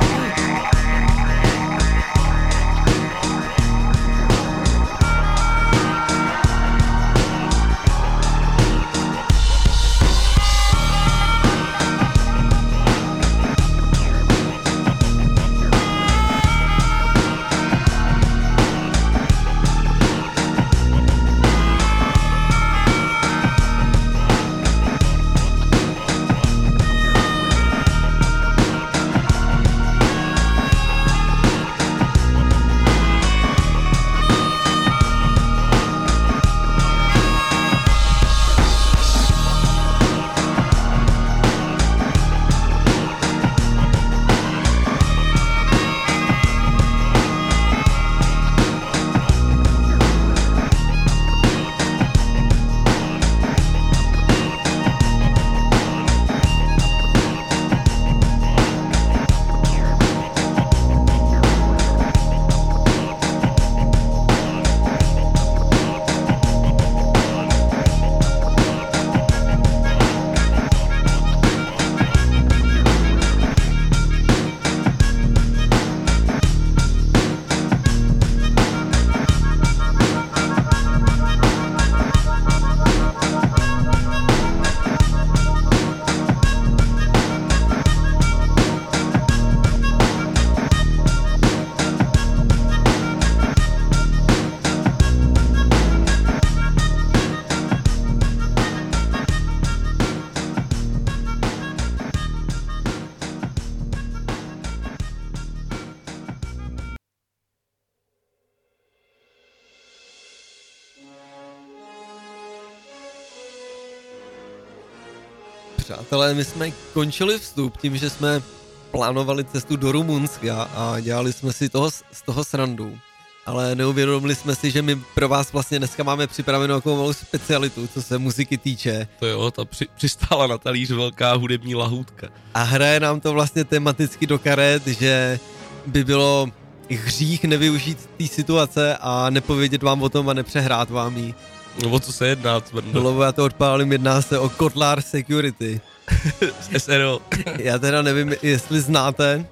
Přátelé, my jsme končili vstup tím, že jsme plánovali cestu do Rumunska a dělali jsme si z toho srandu. Ale neuvědomili jsme si, že my pro vás vlastně dneska máme připravenou takovou malou specialitu, co se muziky týče. To jo, ta přistála na talíř velká hudební lahůdka. A hraje nám to vlastně tematicky do karet, že by bylo hřích nevyužít té situace a nepovědět vám o tom a nepřehrát vám ji. No o co se jedná, Cvrndo? Dlouho já to odpálím, jedná se o Kotlar Security. SRO. Já teda nevím, jestli znáte,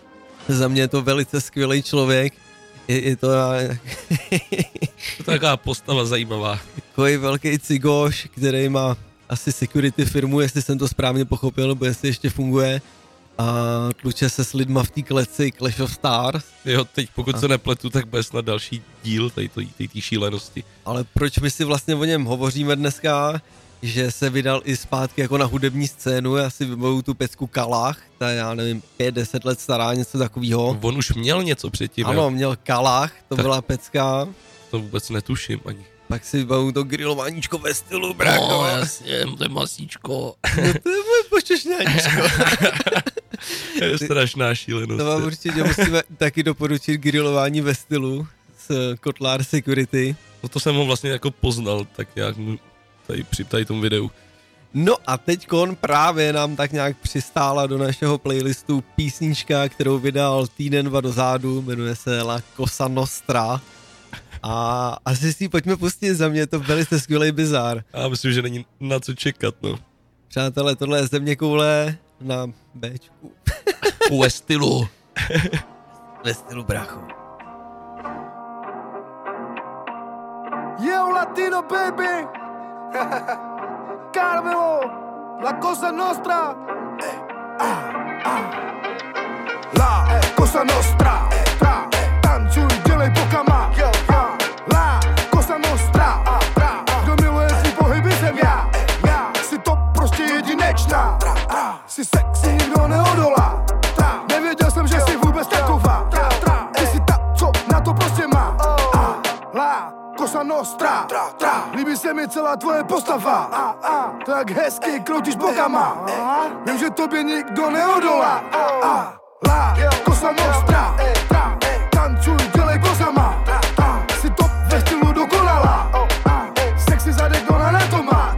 za mě je to velice skvělý člověk. Je to... To taková postava zajímavá. Takový velký cigoš, který má asi security firmu, jestli jsem to správně pochopil, nebo jestli ještě funguje. A tluče se s lidma v té kleci Clash of Stars. Jo, teď pokud se nepletu, tak bude snad další díl té šílenosti. Ale proč my si vlastně o něm hovoříme dneska? Že se vydal i zpátky jako na hudební scénu, já si vybavuju tu pecku Kalach, ta já nevím, 5-10 let stará, něco takového. On už měl něco předtím. Ano, měl Kalach, to tak byla pecka. To vůbec netuším ani. Pak si vybavu to grilováníčko ve stylu, brácho. No, jasně, to je masíčko. No to je moje počešňáníčko. To je strašná šílenost. To vám určitě musíme taky doporučit grilování ve stylu s Kotlar Security. No to jsem ho vlastně jako poznal, tak nějak tady tomu videu. No a teďkon právě nám tak nějak přistála do našeho playlistu písnička, kterou vydal týden, 2 dozadu, jmenuje se La Cosa Nostra. A asi si ji pojďme pustit, za mě je to velice skvělý bizár. Já myslím, že není na co čekat, no. Přátelé, tohle je Země koule na Bčku. Ve stylu. Ve stylu, brácho. Yo, Latino baby. Carmelo, La Cosa Nostra. La Cosa Nostra. Tancuj, dělej bokama. La Cosa Nostra. Kdo miluje tvý pohyby, jsem já. Jsi to prostě jedinečná. Jsi sexy, nikdo neodolá. Nevěděl jsem, že jsi vůbec taková. Ty jsi ta, co na to prostě má. La Cosa Nostra. Líbí se mi celá tvoje postava. Tak hezky kroutíš bokama. Vím, že tobě nikdo neodolá. La Cosa Nostra. Tancuj, dělej kozama. Jsi to ve stylu dokonalá. Sexy zadek, kdo na to má.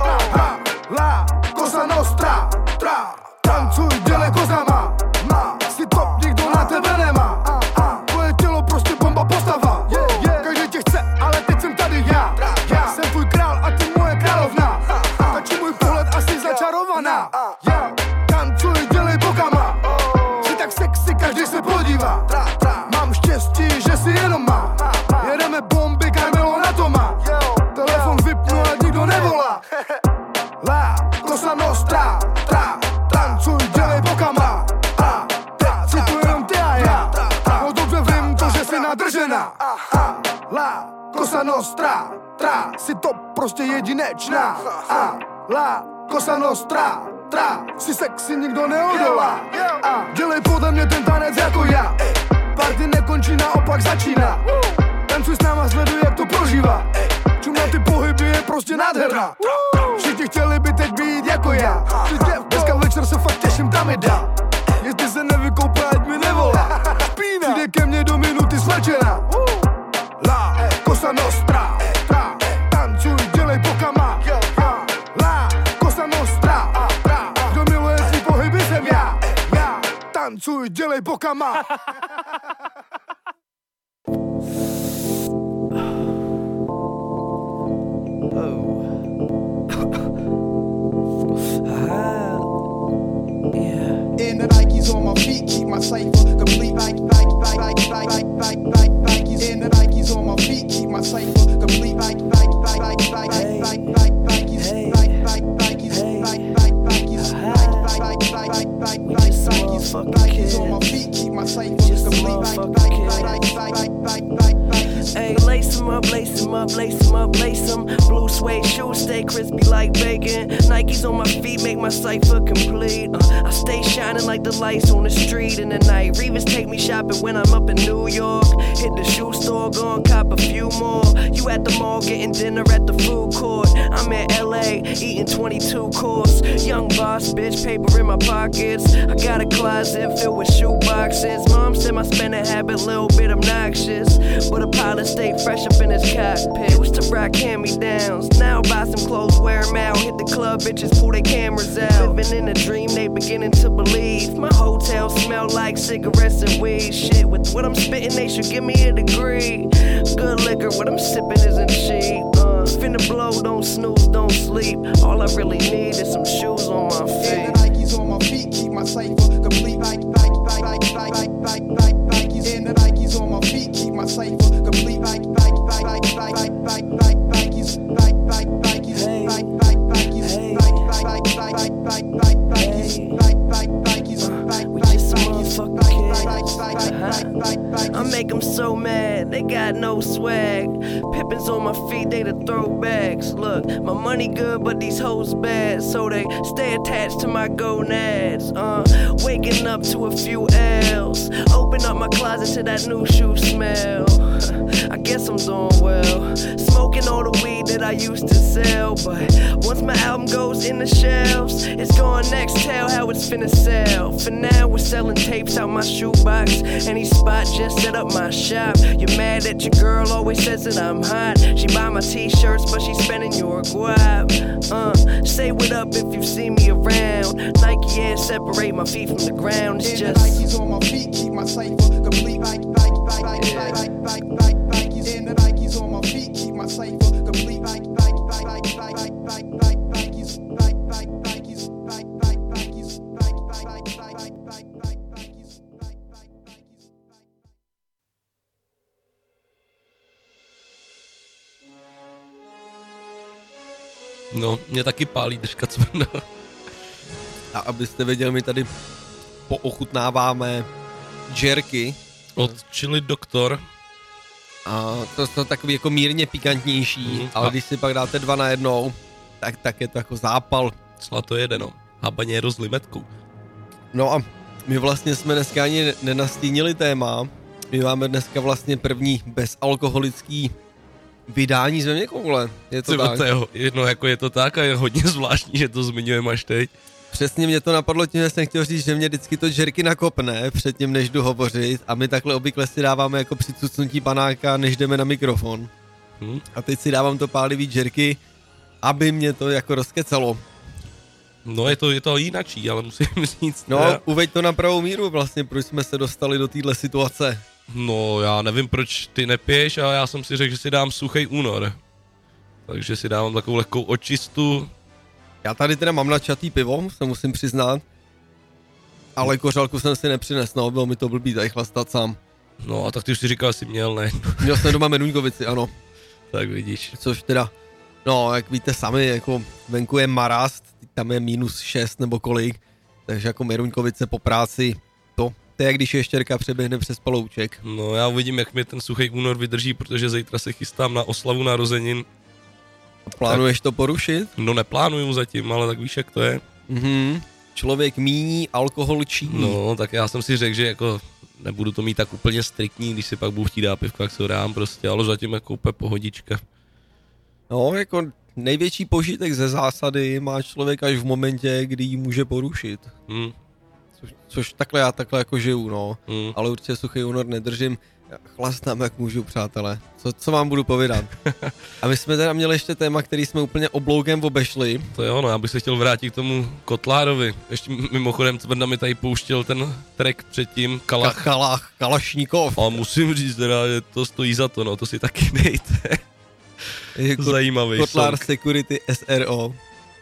La Cosa Nostra. Tancuj, dělej kozama. Jsi to, nikdo na tebe nemá. Tvoje tělo prostě bomba postava. Každý tě chce, ale teď jsem tady já. Jsem tvůj král a ty moje královna. Tačí můj pohled asi začarovaná. Tancuj, dělej bokama. Jsi tak sexy, každý se podívá. Mám štěstí, že si jenom má. Jedeme bomby, Carmelo na to má. Telefon vypnu a nikdo nevolá. La Cosa Nostra. Tancuj, dělej bokama. Teď si tu jenom ty a já. No dobře vím to, že jsi nadržená. La Cosa Nostra. Jsi to prostě jedinečná. La Cosa Nostra. Jsi sexy, nikdo neodolá. Dělej podle mě ten tanec jako já. Party nekončí, naopak začíná. Tancuj s náma, sleduj, jak to prožívá. Čum na ty pohyby je prostě nádherná. Všichni chtěli by teď být jako já. Dneska večer se fakt těším, tam mi dá. Jestli se nevykoupá, ať mi nevolá. Přijde ke mně do minuty slečená. La Cosa Nostra. Tancuj, dělej bokama. La Cosa Nostra. Kdo miluje svý pohyby, jsem já. Tancuj, dělej bokama. In the Nikes on my feet, keep my cipher complete. Nikes in the Nikes on my feet, keep my cipher complete. Nikes on my feet, keep my cipher complete. Hey, lace 'em up, lace 'em up, lace 'em up, lace 'em. Blue suede shoes stay crispy like bacon. Nikes on my feet make my cipher complete. I stay shining like the lights on the street in the night. Revis take me shopping when I'm up in New York. Hit the shoe store, go and cop a few more. You at the mall getting dinner at the food court. I'm in LA eating 22 course. Young boss, bitch, paper in my pockets. I got a closet filled with shoe boxes. Mom said my spending habit a little bit obnoxious, but a pilot stay fresh up in his cockpit. Used to rock hand-me-downs, now buy some clothes, wear 'em out. Hit the club, bitches pull their cameras out. Living in a dream, they beginning to believe. My hotel smell like cigarettes and weed. Shit, with what I'm spitting, they should give me a degree. Good liquor, what I'm sipping isn't cheap. Finna blow, don't snooze, don't sleep. All I really need is some shoes on my feet. In the Nikes on my feet, keep my cipher complete. Nikes in the Nikes on my feet, keep my cipher complete. Nikes. I make them so mad, they got no swag. Pippins on my feet, they the throwbacks. Look, my money good, but these hoes bad, so they stay attached to my gonads. Waking up to a few L's. Open up my closet to that new shoe smell. I guess I'm doing well. Smoking all the weed that I used to sell. But once my album goes in the shelves, it's going next, tell how it's finna sell. For now, we're selling tapes out my shoebox. Any spot, just set up my shop. You're mad that your girl always says that I'm hot. She buy my t-shirts, but she's spending your guap. Say what up if you see me around. Nike Air separate my feet from the ground. It's just Nikes on my feet, keep my cipher complete. Nikes in the Nikes on my feet, keep my cipher complete. No, mě taky pálí držka cvrna. A abyste věděli, my tady poochutnáváme jerky. Od Chili Doktor. A to jsou takový jako mírně pikantnější, ale když si pak dáte 2 na 1, tak je to jako zápal. Cla to jede, no. Habanero s limetkou. No a my vlastně jsme dneska ani nenastínili téma. My máme dneska vlastně první bezalkoholický vydání Zeměkoule. Je to tak? No jako je to tak a je hodně zvláštní, že to zmiňujeme až teď. Přesně mě to napadlo tím, že jsem chtěl říct, že mě vždycky to jerky nakopne předtím, než jdu hovořit a my takhle obvykle si dáváme jako při cucnutí panáka, než jdeme na mikrofon. A teď si dávám to pálivý jerky, aby mě to jako rozkecalo. No je to jinačí, ale musím říct. No, uveď to na pravou míru vlastně, proč jsme se dostali do téhle situace. No, já nevím, proč ty nepiješ, ale já jsem si řekl, že si dám suchý únor. Takže si dávám takovou lehkou očistu. Já tady teda mám načatý pivo, se musím přiznat. Ale kořálku jsem si nepřines, no, bylo mi to blbý tady chlastat sám. No a tak ty už si říkal, jsi měl, ne? Měl jsem doma Meruňkovici, ano. Tak vidíš. Což teda, no, jak víte sami, jako venku je marast, tam je -6 nebo kolik, takže jako Meruňkovice po práci, to je jak když ještěrka přeběhne přes palouček. No já uvidím, jak mi ten suchý únor vydrží, protože zítra se chystám na oslavu narozenin. Plánuješ to porušit? No neplánuju zatím, ale tak víš, jak to je. Člověk míní, alkohol činí. No, tak já jsem si řekl, že jako nebudu to mít tak úplně striktní, když si pak budu chtít dát pivko, jak se ho dám prostě, ale zatím jako úplně pohodička. No, jako největší požitek ze zásady má člověk až v momentě, kdy ji může porušit. Což takhle já takhle jako žiju, no. Ale určitě suchý únor nedržím. Chlastám, jak můžu, přátelé. Co vám budu povídat? A my jsme teda měli ještě téma, který jsme úplně obloukem obešli. To jo, no, já bych se chtěl vrátit k tomu Kotlárovi. Ještě mimochodem Cvrna mi tady pouštěl ten track předtím, Kalašníkov. A musím říct teda, že to stojí za to, no, to si taky dejte. Zajímavý Kotlár song. Security SRO.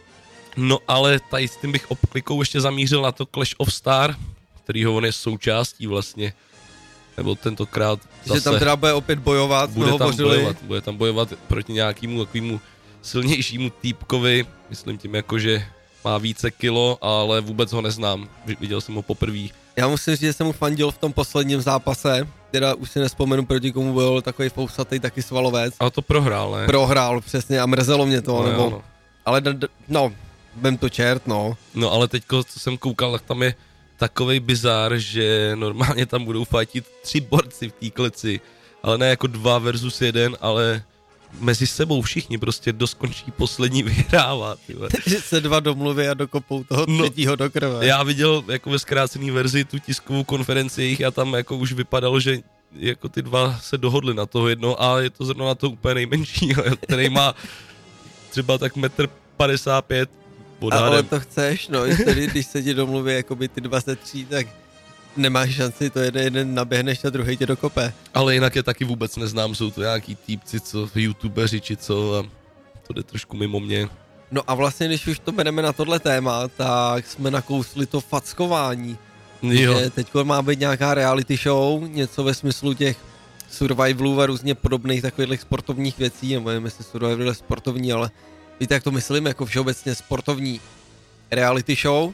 No ale tady s tím bych obklikou ještě zamířil na to Clash of Star, kterýho on je součástí vlastně. Nebo tentokrát zase... Že tam teda bude opět bojovat, Bude tam bojovat proti nějakému takovému silnějšímu týpkovi, myslím tím jako, že má více kilo, ale vůbec ho neznám, viděl jsem ho poprvé. Já musím říct, že jsem mu fandil v tom posledním zápase, teda už si nespomenu, proti komu byl takový fousatý taky svalovec. Ale to prohrál, ne? Prohrál, přesně, a mrzelo mě to, no, nebo... Jo, no. Ale no, vem to čert, no. No ale teďko, co jsem koukal, tak tam je takovej bizár, že normálně tam budou fightit 3 borci v té kleci, ale ne jako 2 versus 1, ale mezi sebou všichni prostě doskončí poslední vyhrává. Že se 2 domluví a dokopou toho třetího do krve. Já viděl jako ve zkrácené verzi tu tiskovou konferenci jejich a tam jako už vypadalo, že jako ty 2 se dohodli na toho jedno a je to zrovna na to úplně nejmenší, který má třeba tak 1,55 m. Ale to chceš, no, tedy, když se ti domluví jakoby ty 23, tak nemáš šanci, to jeden naběhneš a druhý tě dokope. Ale jinak je taky vůbec neznám, jsou to nějaký týpci, co youtubeři či co a to jde trošku mimo mě. No a vlastně, když už to bereme na tohle téma, tak jsme nakousli to fackování. Jo. Že teďko má být nějaká reality show, něco ve smyslu těch survivalů a různě podobných takových sportovních věcí, nebo nevím, jestli survival je sportovní, ale víte, jak to myslím, jako všeobecně sportovní reality show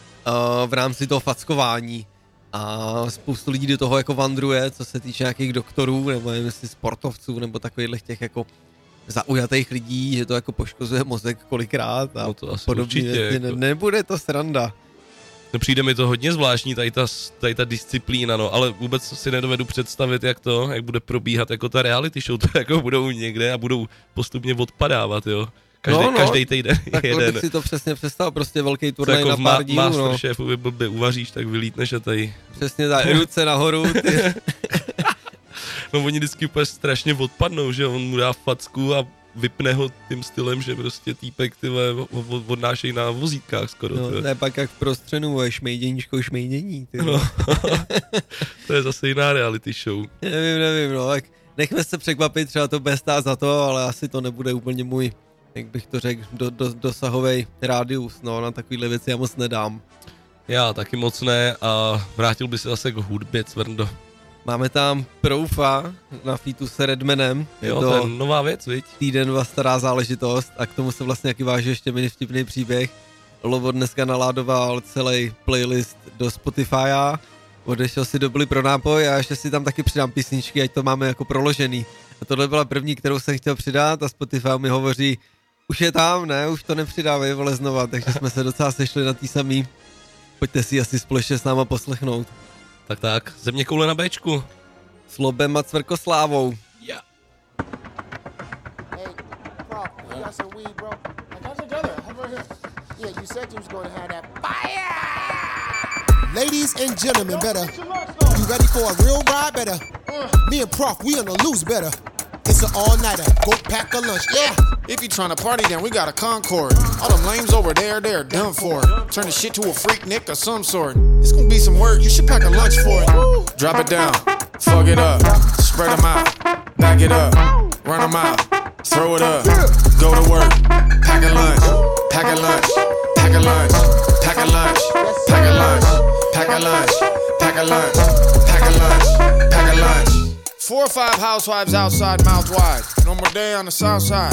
v rámci toho fackování. A spoustu lidí do toho jako vandruje, co se týče nějakých doktorů, nebo nevím, jestli sportovců, nebo takových těch jako zaujatých lidí, že to jako poškozuje mozek kolikrát a no to asi podobně. určitě, jako... Nebude to sranda. No přijde mi to hodně zvláštní, tady ta disciplína, no, ale vůbec si nedovedu představit, jak bude probíhat jako ta reality show, to jako budou někde a budou postupně odpadávat, jo. Každý týden takhle jeden. bych si to přesně představil, prostě velký turnaj na pár dílů, no. Masterchefovi blbě uvaříš, tak vylítneš a tady... Přesně tak, ruce nahoru, ty. No oni vždycky úplně strašně odpadnou, že on mu dá facku a vypne ho tím stylem, že prostě týpek odnášejí na vozítkách skoro. No, to je pak jak v prostřenu, šmejdění. No. To je zase jiná reality show. Nevím, no, tak nechme se překvapit, třeba to bude stát za to, ale asi to nebude úplně můj, jak bych to řekl, dosahovej rádius, no, na takovýhle věci já moc nedám. Já taky moc ne a vrátil by se zase k hudbě, Cvrndo. Máme tam Proufa na featu s Redmanem. Jo, to je nová věc, viď? Týden stará záležitost a k tomu se vlastně jaký váží ještě mini vtipný příběh. Lovo dneska naládoval celý playlist do Spotify, odešel si do Byli pro nápoj a ještě si tam taky přidám písničky, ať to máme jako proložený. A tohle byla první, kterou jsem chtěl přidat a Spotify mi hovoří, už je tam, ne, už to nepřidávej, vole, znova, takže jsme se docela sešli na tý samý. Pojďte si asi společně s náma poslechnout. Tak, země koule na Bčku. S Lobem a Cvrkoslávou. Yeah. Hey, Prof, you got some weed, bro? I got together. Over here. Yeah, you said you was going to have that fire. Ladies and gentlemen, better. You ready for a real ride? Better. Me and Prof, we on the loose, better. It's an all-nighter. Go pack a lunch. Yeah. If you tryna party, then we got a Concord. All them lames over there, they're done for. Turn the shit to a freak Nick of some sort. It's gonna be some work, you should pack a lunch for it. Drop it down, fuck it up, spread them out, back it up, run them out, throw it up, go to work, pack a lunch, pack a lunch, pack a lunch, pack a lunch, pack a lunch, pack a lunch, pack a lunch, pack a lunch, pack a lunch. 4 or 5 housewives outside, mouth wide. No more day on the south side.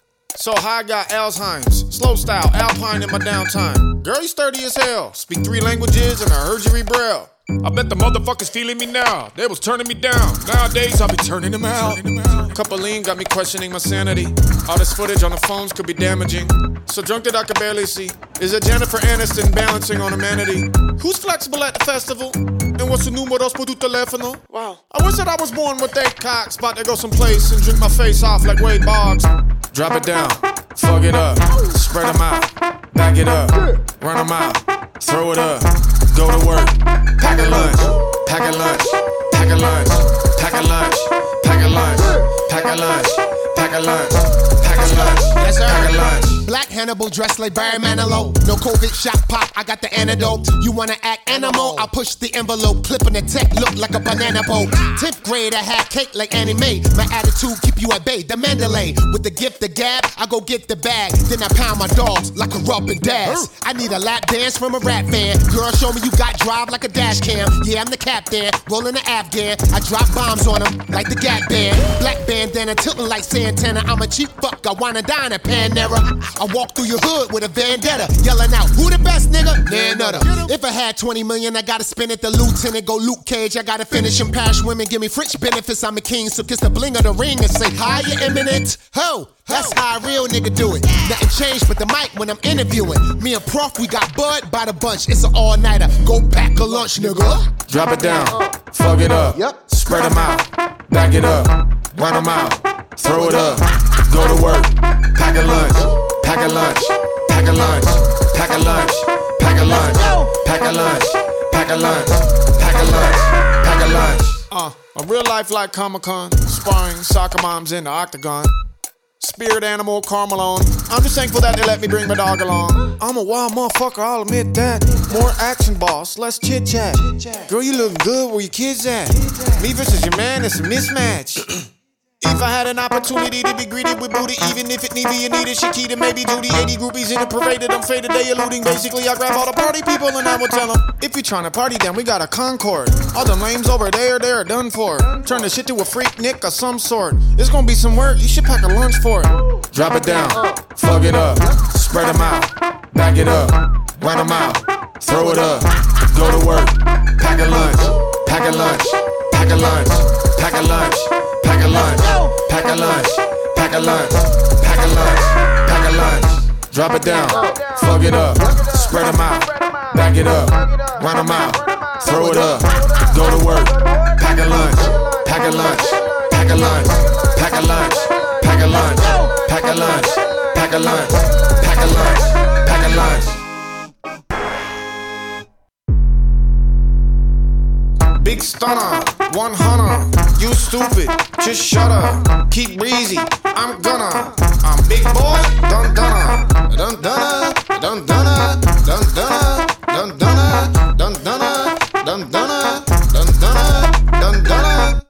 So high, got Alzheimer's. Slow style, Alpine in my downtime. Girl, you sturdy as hell. Speak 3 languages and I heard you read Braille. I bet the motherfuckers feeling me now. They was turning me down. Nowadays, I'll be turning them out. Couple lean got me questioning my sanity. All this footage on the phones could be damaging. So drunk that I could barely see. Is it Jennifer Aniston balancing on humanity? Who's flexible at the festival? And what's the números por tu teléfono? Wow. I wish that I was born with 8 cocks. About to go someplace and drink my face off like Wade Boggs. Drop it down, fuck it up, spread them out, back it up, run them out, throw it up, go to work, pack a lunch, pack a lunch, pack a lunch, pack a lunch, pack a lunch, pack a lunch, pack a lunch, pack a lunch, yes sir, pack a lunch. Black Hannibal dressed like Barry Manilow. No COVID shot pop, I got the antidote. You wanna act animal? I push the envelope, clipping the tech, look like a banana boat. 10th grade, I had cake like Annie Mae. My attitude keep you at bay, the Mandalay. With the gift, the gab, I go get the bag. Then I pound my dogs like a rub and dash. I need a lap dance from a rap fan. Girl, show me you got drive like a dash cam. Yeah, I'm the captain, rolling the Afghan. I drop bombs on them like the Gap Band. Black bandana tilting like Santana. I'm a cheap fuck, I wanna dine at Panera. I walk through your hood with a vendetta, yelling out, who the best nigga? Nah, nutter. If I had 20 million, I gotta spend it. The lieutenant go Luke Cage, I gotta finish him. Parish women give me French benefits, I'm a king. So kiss the bling of the ring and say, hi, you eminent. Ho, that's how a real nigga do it. Nothing changed but the mic when I'm interviewing. Me and Prof, we got bud by the bunch. It's an all-nighter, go pack a lunch, nigga. Drop it down, fuck it up, spread them out, back it up, run them out, throw it up, go to work, pack a lunch, pack a lunch, pack a lunch, pack a lunch, pack a lunch, pack a lunch, pack a lunch, pack a lunch, pack a lunch. A real life like Comic-Con, sparring soccer moms in the octagon. Spirit animal, Carmelone. I'm just thankful that they let me bring my dog along. I'm a wild motherfucker, I'll admit that. More action, boss, less chit chat. Girl, you looking good, where your kids at? Me versus your man, it's a mismatch. If I had an opportunity to be greeted with booty, even if it need be a needed Shakita, maybe duty. 80 groupies in a parade that I'm faded, they eluding. Basically, I grab all the party people and I will tell them, if you tryna party, then we got a Concord. All them lames over there, they're done for. Turn the shit to a freak Nick of some sort. It's gonna be some work, you should pack a lunch for it. Drop it down, fuck it up, spread them out, back it up, run them out, throw it up, go to work, pack a lunch, pack a lunch, pack a lunch, pack a lunch, pack a lunch, pack a lunch, pack a lunch, pack a lunch, pack a lunch. Drop it down, fuck it up, spread them out, back it up, run them out, throw it up, go to work, pack a lunch, pack a lunch, pack a lunch, pack a lunch, pack a lunch, pack a lunch, pack a lunch, pack a lunch, pack a lunch. Big stunner, 100, you stupid, just shut up, keep breezy, I'm gonna, I'm big boy, dun dunna, dun dunna, dun dunna, dun dunna, dun dunna, dun dunna, dun dunna, dun dunna, dun dunna.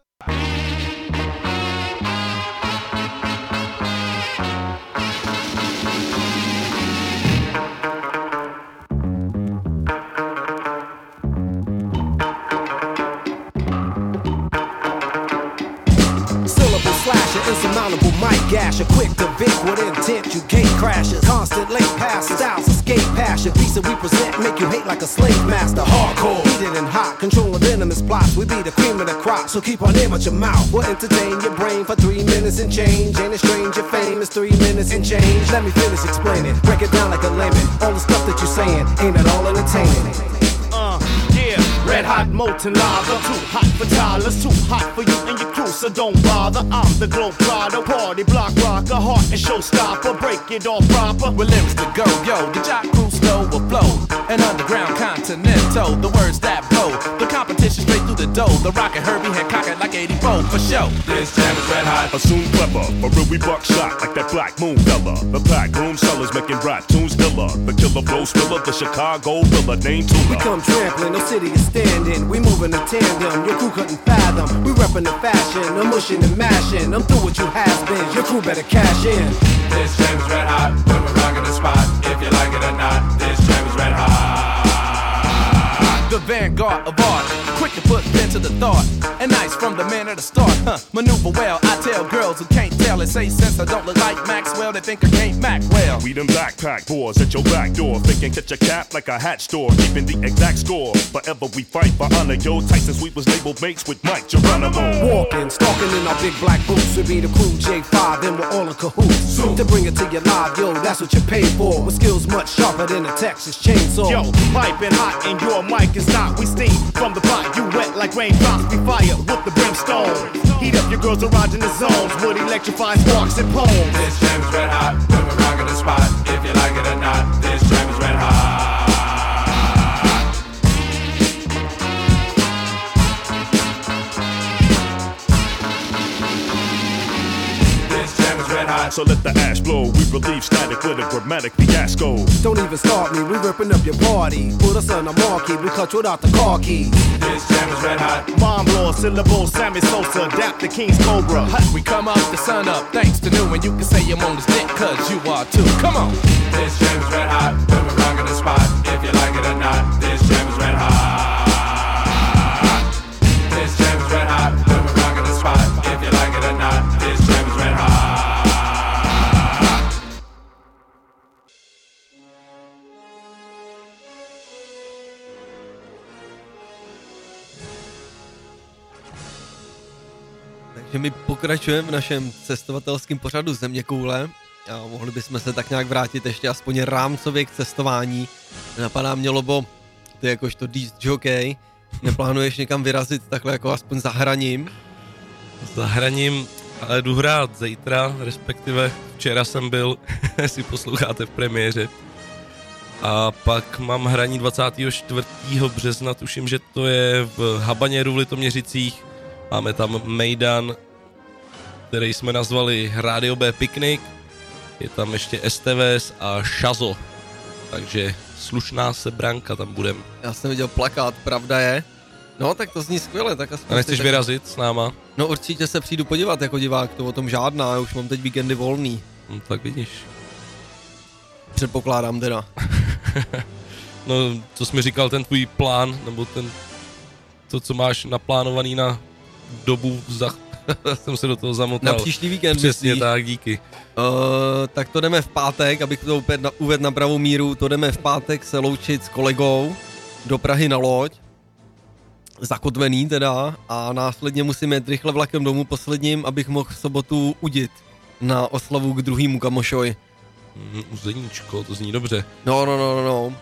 Insurmountable mic gasher, quick to Vic with intent, you gate crashers. Constant late passes, styles escape passion. Piece that we present, make you hate like a slave master. Hardcore, heated and hot, controlling venomous plots. We be the cream of the crop, so keep on in with your mouth. We'll entertain your brain for 3 minutes and change. Ain't it strange, your fame is 3 minutes and change. Let me finish explaining, break it down like a lemon. All the stuff that you're saying, ain't at all entertaining. Yeah, red hot molten lava, too hot for toddlers, too hot for you and your crew, so don't bother. I'm the globetrotter, party block rocker, heart and showstopper, break it all proper. With lyrics to go, yo, the jock crew slow will flow. An underground continental, the words that blow. The competition straight through the dough. The Rocket Herbie Hancock it like 84 for show. This jam is red hot. Assume clever, for real we buckshot like that Black Moon fella. The pack room sellers making rap tunes dilla. The killer flow spiller, the Chicago Villa named Tula. We come trampling, no city is standing. We moving in tandem, your crew couldn't fathom. We reppin' the fashion, I'm mushing and mashing. I'm through what you has been, your crew better cash in. This jam is red hot, when we're rocking the spot. If you like it or not, this jam is red hot. The vanguard of art, quick to put pen to the thought. And nice from the man at the start, maneuver well. I tell girls who can't tell and say since I don't look like Maxwell, they think I can't Mac well. We them backpack boys at your back door, thinking catch a cap like a hat store, keeping the exact score. Forever we fight for honor, yo, tight since we was labeled mates with Mike Geronimo. Walking, stalking in our big black boots, we be the crew J5, and we're all in cahoots. To bring it to your live, yo, that's what you pay for. With skills much sharper than a Texas chainsaw. Yo, piping hot and your mic is not. We steam from the pot, you wet like raindrops. We fire with the brimstone. Heat up your girls erogenous zones. Would electrify sparks and poems. This jam is red hot, when we're rocking the spot. If you like it or not, this jam is red hot. So let the ash blow, we relieve static with a grammatic fiasco. Don't even start me, we ripping up your party. Put us on a marquee, we cut without the car keys. This jam is red hot. Bomb law, syllables, Sammy Sosa, adapt the King's Cobra. We come up the sun up, thanks to new, and you can say I'm on this dick, cause you are too. Come on! This jam is red hot, when we're rocking the spot. If you like it or not, this jam is red hot. This jam is red hot, when we're rocking the spot. If you like it or not, this jam is red hot. Takže my pokračujeme v našem cestovatelském pořadu Zeměkoule a mohli bychom se tak nějak vrátit ještě aspoň rámcově k cestování. Napadá mě, Lobo, ty jakožto disc jockey, neplánuješ někam vyrazit takhle jako aspoň za hraním? Za hraním, ale jdu hrát zítra, respektive včera jsem byl, jestli posloucháte v premiéře. A pak mám hraní 24. března, tuším, že to je v Habaněru v Litoměřicích. Máme tam mejdan, který jsme nazvali Radio B Picnic. Je tam ještě STVS a Šazo. Takže slušná sebranka tam budem. Já jsem viděl plakát, pravda je. No, tak to zní skvěle, tak aspoň... A nechceš vyrazit s náma? No určitě se přijdu podívat jako divák, to o tom žádná, já už mám teď víkendy volný. No, tak vidíš. Předpokládám teda. No, co jsi mi říkal, ten tvůj plán, nebo to, co máš naplánovaný na dobu, jsem se do toho zamotal. Na příští víkend. Přesně tak, díky. Tak to jdeme v pátek, abych to opět uvedl na pravou míru, to jdeme v pátek se loučit s kolegou do Prahy na loď. Zakotvený teda a následně musím jet rychle vlakem domů posledním, abych mohl v sobotu udit na oslavu k druhému kamošovi. Uzeníčko, to zní dobře. No.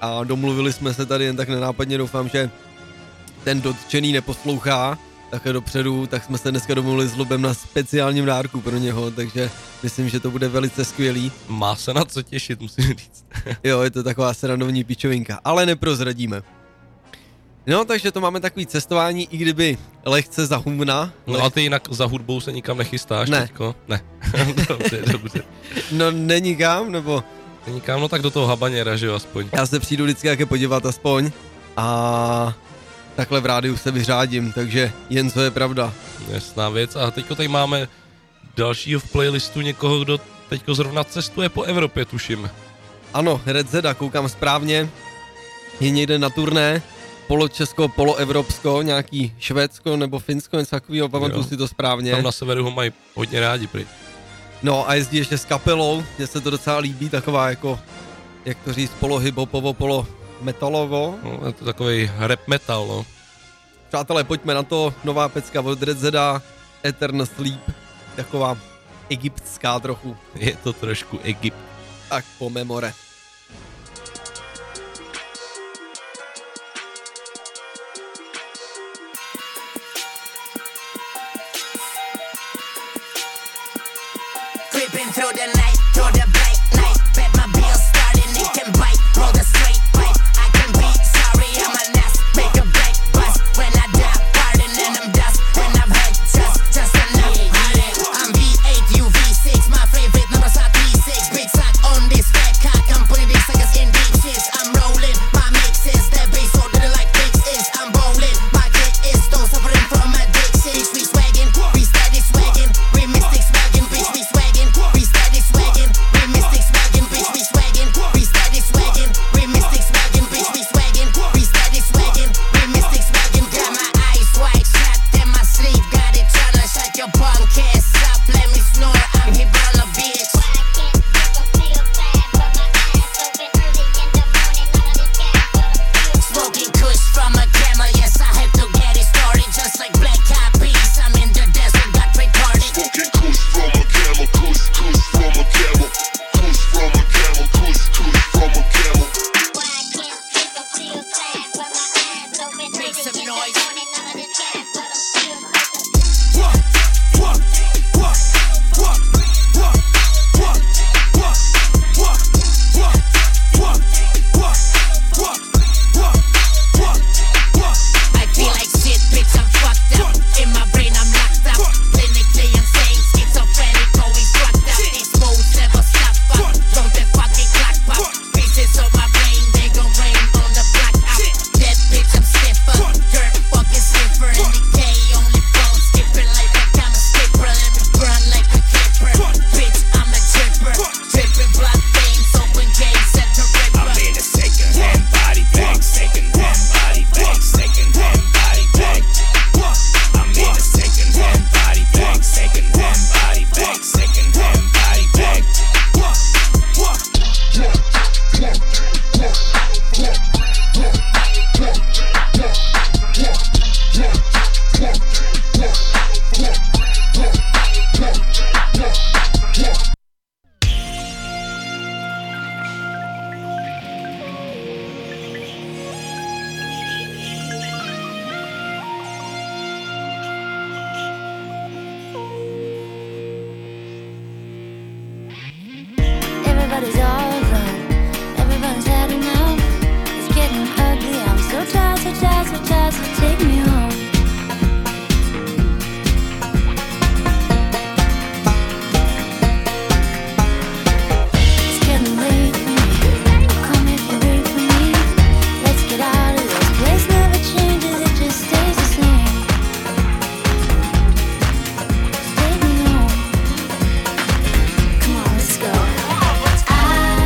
a domluvili jsme se tady jen tak nenápadně, doufám, že ten dotčený neposlouchá takhle dopředu, tak jsme se dneska domluvili s Lubem na speciálním dárku pro něho, takže myslím, že to bude velice skvělý. Má se na co těšit, musím říct. Jo, je to taková srandovní pičovinka, ale neprozradíme. No, takže to máme takový cestování, i kdyby lehce za humna. No a ty jinak za hudbou se nikam nechystáš teďko? Ne. dobře. No nenikam, nebo? Nenikam, no tak do toho habaněra, že jo, aspoň. Já se přijdu vždycky jaké podívat aspoň a takhle v rádiu se vyřádím, takže jen co je pravda. Jasná věc. A teďko tady máme dalšího v playlistu někoho, kdo teďko zrovna cestuje po Evropě, tuším. Ano, Red Zeda, koukám správně, je někde na turné, poločesko, poloevropsko, nějaký Švédsko nebo Finsko, něco takového, pamatuju si to správně. Tam na severu ho mají hodně rádi prý. No a jezdí ještě s kapelou, mně se to docela líbí, taková jako, jak to říct, polo-hip-hopovo, polo-metalovo. No, je to takovej rap metal, no. Přátelé, pojďme na to, nová pecka od Red Zeda, Eternal Sleep, taková egyptská trochu. Je to trošku Egypt. Tak po memore. Creeping through the night, through the bright light. Bet my bills starting, it can bite. Roll the straight pipe. I can be sorry, I'm a nest. Make a break bust when I die. Pardon and I'm dust. When I've heard just enough. I'm V8, you V6. My favorite numbers are 3-6. Big sack on this fat cock. I'm putting these suckers in deep shits. I'm rolling my mixes. That bass so that like fixes. I'm bowling. My kick is still suffering from addiction. Bitch, we swaggin', we steady swaggin'. We mystic swaggin', bitch, we swaggin'. We steady swaggin', we mystic swaggin', bitch, we swaggin'. We steady swaggin', we mystic swaggin', bitch, we swaggin'. We steady swaggin', we mystic swaggin'. Got my eyes wide shut, then my sleep got it tryna shut your punk ass up. Let me snore, I'm hip on a bitch. Smoking kush from a camel, yes, I had to get it started. Just like black copies, I'm in the desert, got retarded. Smoking kush from a camel, kush from a camel, kush from a camel, kush from a camel. Make some noise. I feel like shit, bitch, I'm fucked up. In my brain, I'm locked up. Clinically insane, schizophrenic, always fucked up. These moves never stop up. Don't that fucking clock pop. Pieces of my brain, they gon' rain on the block up. Dead bitch, I'm stiffer. Dirt fucking sniffer. In decay, only bone skipping like I'm a skipper. Let me burn like a clipper. Bitch, I'm a tripper. Tripping blood veins, open gates at the ripper. I'm in a second-hand body bag, second-hand body bag, second-hand body bag. I'm in a second-hand body bag, second-hand body bag, second-hand body bag. Everybody's all alone. Everybody's had enough. It's getting ugly. I'm so tired, so tired, so tired. So take me home. It's getting late for me. Come if you wait for me. Let's get out of this place. Never changes. It just stays the same. Just take me home. Come on, let's go. I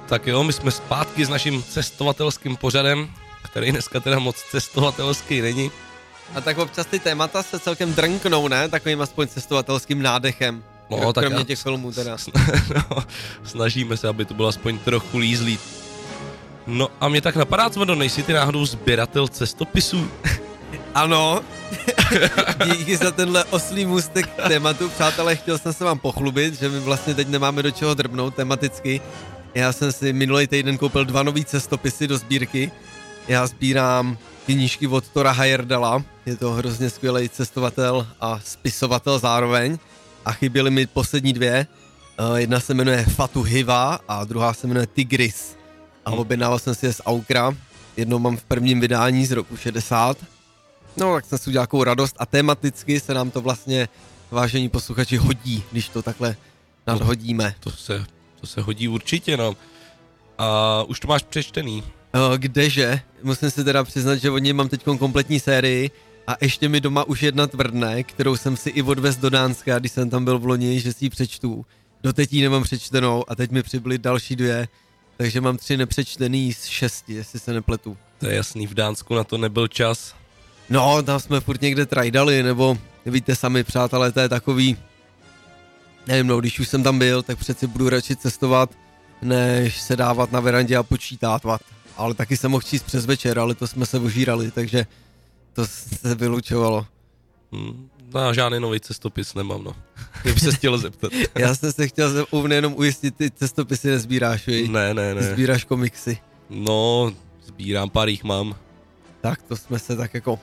Tak jo, my jsme zpátky s naším cestovatelským pořadem, který dneska teda moc cestovatelský není. A tak občas ty témata se celkem drnknou, ne? Takovým aspoň cestovatelským nádechem. No, tak kromě těch filmů teda. No, snažíme se, aby to bylo aspoň trochu lízlý. No a mě tak napadá, Cvrdo, nejsi ty náhodou sběratel cestopisů? Ano, díky za tenhle oslý můstek k tématu, přátelé, chtěl jsem se vám pochlubit, že my vlastně teď nemáme do čeho drbnout tematicky. Já jsem si minulý týden koupil 2 nový cestopisy do sbírky. Já sbírám knížky od Tora Heyerdala, je to hrozně skvělý cestovatel a spisovatel zároveň. A chyběly mi poslední 2. Jedna se jmenuje Fatu Hiva a druhá se jmenuje Tigris. A objednával jsem si je z Aukra. Jednou mám v prvním vydání z roku 60. No, tak jsem si udělal takovou radost a tematicky se nám to vlastně, vážení posluchači, hodí, když to takhle nadhodíme. To se hodí určitě, no. A už to máš přečtený? Kdeže? Musím si teda přiznat, že od něj mám teď kompletní sérii a ještě mi doma už jedna tvrdne, kterou jsem si i odvez do Dánska, když jsem tam byl v loni, že si ji přečtu. Doteď ji nemám přečtenou a teď mi přibyly další 2, takže mám 3 nepřečtený z 6, jestli se nepletu. To je jasný, v Dánsku na to nebyl čas. No, tam jsme furt někde trajdali, nebo víte sami, přátelé, to je takový, nevím, no, když už jsem tam byl, tak přeci budu radši cestovat, než se dávat na verandě a počítávat. Ale taky jsem mohl číst přes večer, ale to jsme se ožírali, takže to se vylučovalo. No, žádný nový cestopis nemám, no. Kdyby se chtěl zeptat. Já jsem se chtěl nejenom ujistit, ty cestopisy nezbíráš, víš? Ne. Sbíráš komiksy. No, sbírám, pár jich mám. Tak to jsme se tak jako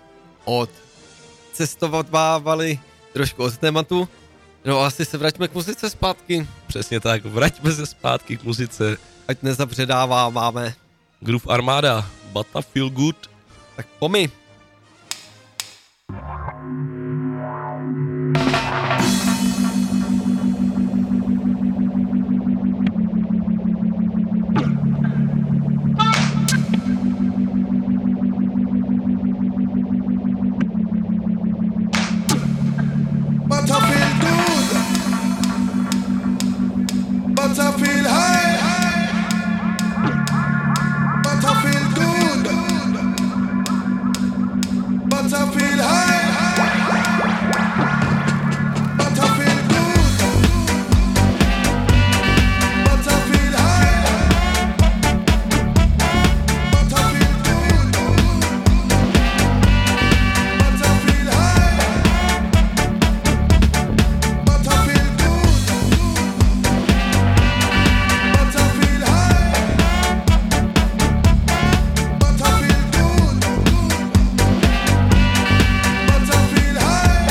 odcestovávali trošku od tématu. No asi se vraťme k muzice zpátky. Přesně tak, vraťme se zpátky k muzice. Ať nezabředáváme. Groove Armada, But I Feel Good. Tak pomi. But I feel good. But I feel high. But I feel good. But I feel high. But I feel good. But I feel high. But I feel good. But I feel high. But I feel good. But I feel high. But I feel good. But I feel high.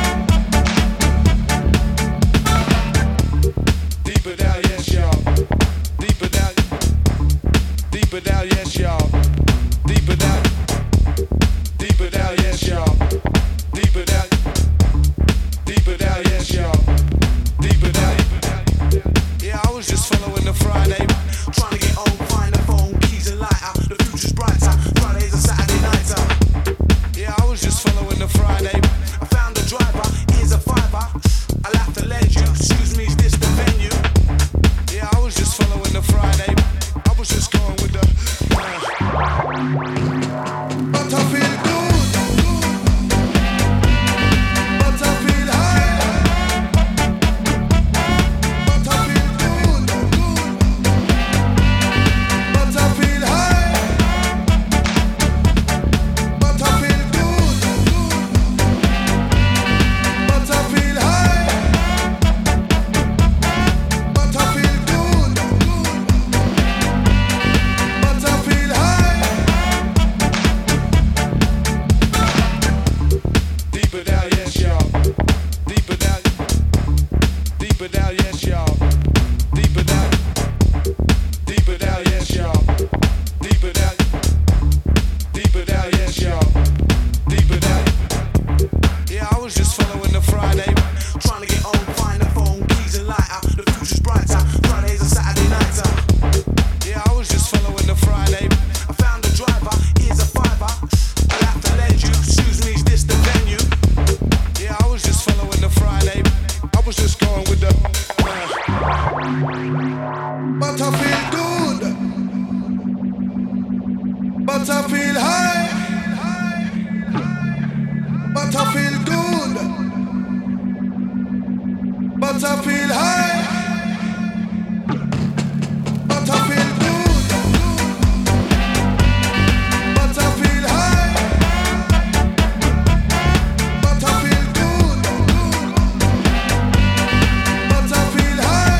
Deeper down, yes, y'all. Deeper down. Deeper down, yes, y'all. Deeper down. Deeper down, yes, y'all. Deeper down. Deeper down, yes, y'all. Deeper down. Yeah, I was just following the Friday. Trying to get home, find the phone, keys and lighter. The future's brighter. Fridays and Saturday nighter. Yeah, I was just following the Friday. I found the driver, here's a $5. I'll have to lend you. Excuse me, is this the venue? Yeah, I was just following the Friday. I was just going with the. But I feel good. But I feel high. But I feel good. But I feel high. But I feel good. But I feel high. But I feel good. But I feel high. but I feel high, but I feel good, but I feel high, but I feel good, but I feel high, but I feel good, but I feel high.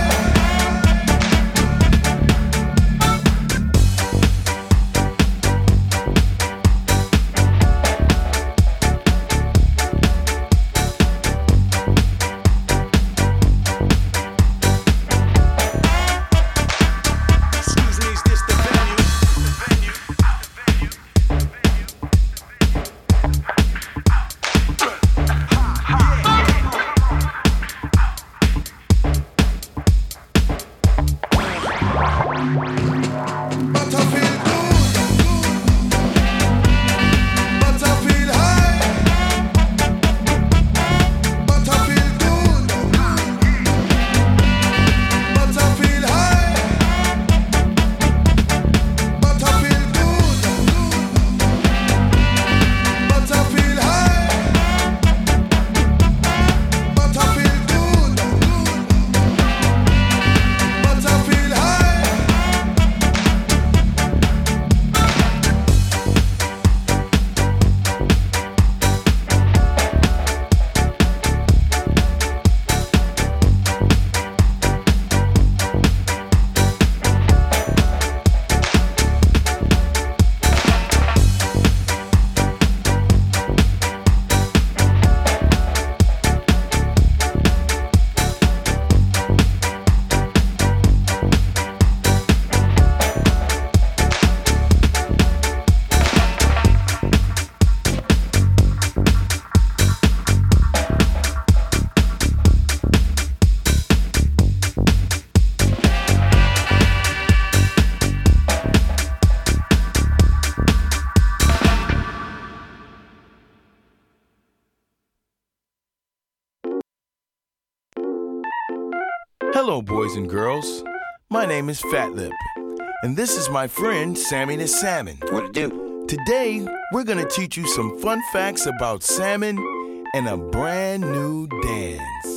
Hello, boys and girls. My name is Fat Lip, and this is my friend Sammy the Salmon. What to do? Today, we're gonna teach you some fun facts about salmon and a brand new dance.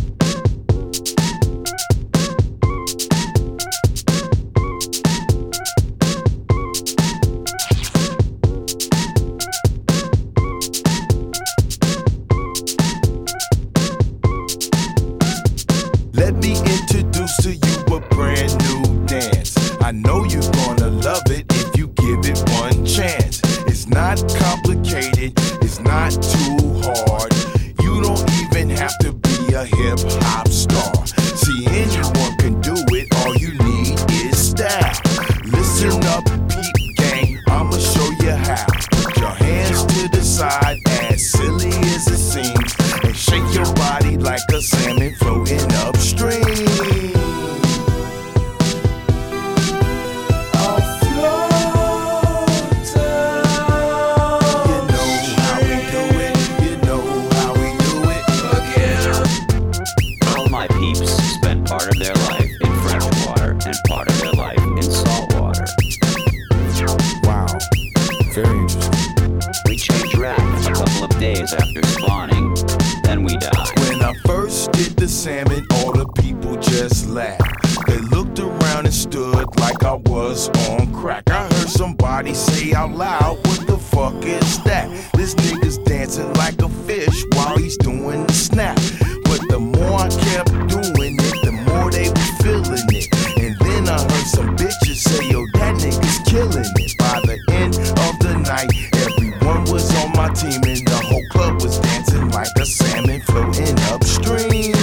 Let me introduce to you a brand new dance. I know you're gonna love it if you give it one chance. It's not complicated, it's not too hard. You don't even have to be a hip hop star. See, anyone can do it, all you need is style. Listen up, peep gang, I'ma show you how. Put your hands to the side, as silly as it seems, and shake your body like a salmon floating upstream. All my peeps spend part of their life in fresh water and part of their life in salt water. Wow, very interesting. We change rack a couple of days after spawning, then we die. When I first did the salmon, all the people just laughed. They looked around and stood like I was on crack. I heard somebody say out loud, what the fuck is that? This nigga's dancing like a fish while he's doing the snap. But the more I kept doing it, the more they were feeling it. And then I heard some bitches say, yo, that nigga's killing it. By the end of the night, everyone was on my team and the whole club was dancing like a salmon floating upstream.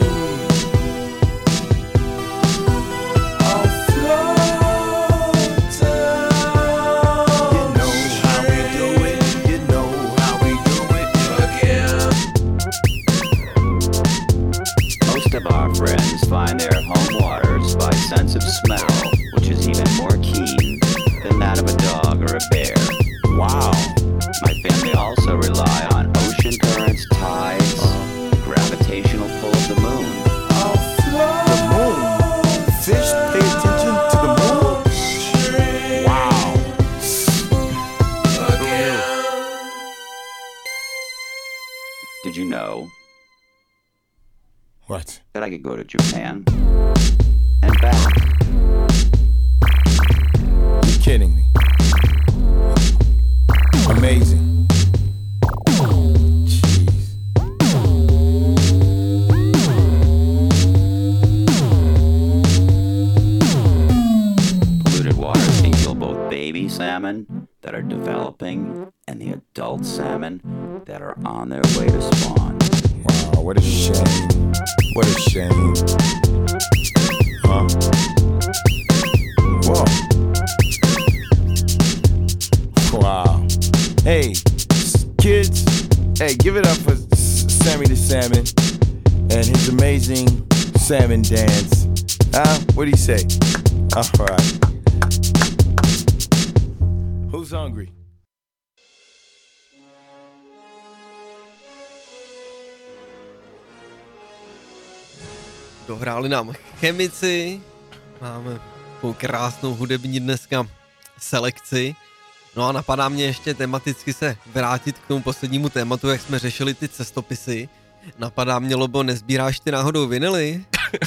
Most of our friends find their home waters by sense of smell, which is even more keen than that of a dog or a bear. Wow. My family also rely on ocean currents, tides, the gravitational pull of the moon. The moon? Fish pay attention to the moon? Wow. you know What? that I could go to Japan and back? You're kidding me. Amazing. Polluted waters can kill both baby salmon that are developing and the adult salmon that are on their way to spawn. Wow, what a shame. What a shame. Huh? Whoa. Wow. Hey, kids, hey, give it up for Sammy the Salmon and his amazing salmon dance. What do you say? All right. Who's hungry? Dohráli nám chemici, máme takovou krásnou hudební dneska selekci. No a napadá mě ještě tematicky se vrátit k tomu poslednímu tématu, jak jsme řešili ty cestopisy. Napadá mě, Lobo, nezbíráš ty náhodou vinily?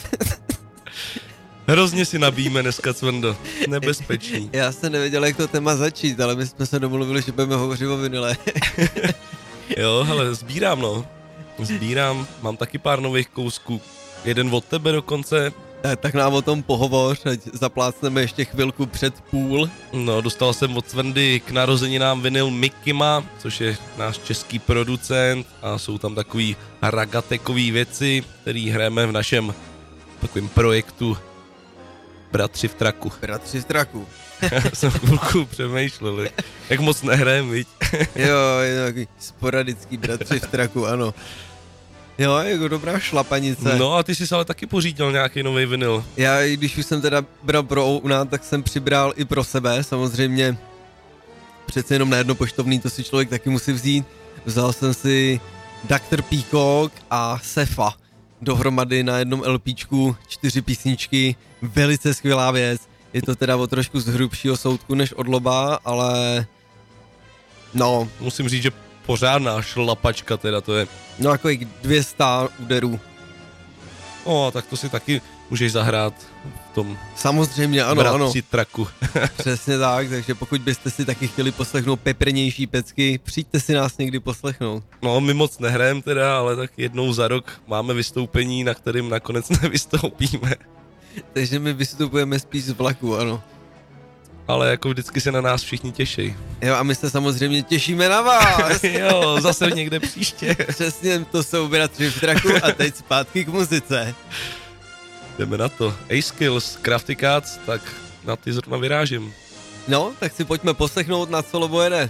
Hrozně si nabíjíme dneska, Cvendo. Nebezpečný. Já jsem nevěděl, jak to téma začít, ale my jsme se domluvili, že budeme hovořit o vinile. Jo, hele, sbírám, no. Sbírám, mám taky pár nových kousků. Jeden od tebe dokonce. Tak nám o tom pohovoř, ať zaplácneme ještě chvilku před půl. No, dostal jsem od Svendy k narozeninám vinyl Mikima, což je náš český producent a jsou tam takový ragatekový věci, který hrajeme v našem takovém projektu Bratři v traku. Bratři v traku. Jsem chvilku přemýšlel, jak moc nehrajem, viď? Jo, je takový sporadický Bratři v traku, ano. Jo, jako dobrá šlapanice. No a ty jsi ale taky pořídil nějaký nový vinyl. Já, když už jsem teda bral pro Ouna, tak jsem přibral i pro sebe, samozřejmě. Přece jenom na jedno poštovný, to si člověk taky musí vzít. Vzal jsem si Dr. Peacock a Sefa dohromady na jednom LPčku, 4 písničky, velice skvělá věc. Je to teda o trošku z hrubšího soudku než od Loba, ale no. Musím říct, že pořádná šlapačka teda to je. No jako 200 úderů. O, tak to si taky můžeš zahrát v tom. Samozřejmě, ano, Bratři traku. Přesně tak, takže pokud byste si taky chtěli poslechnout peprnější pecky, přijďte si nás někdy poslechnout. No, my moc nehrajem teda, ale tak jednou za rok máme vystoupení, na kterým nakonec nevystoupíme. Takže my vystupujeme spíš z vlaku, ano. Ale jako vždycky se na nás všichni těší. Jo, a my se samozřejmě těšíme na vás. Jo, zase někde příště. Přesně, to jsou Bratři v traku a teď zpátky k muzice. Jdeme na to. A-Skills, Crafty Cats, tak na ty zrovna vyrážím. No, tak si pojďme poslechnout, na co Lobo jede.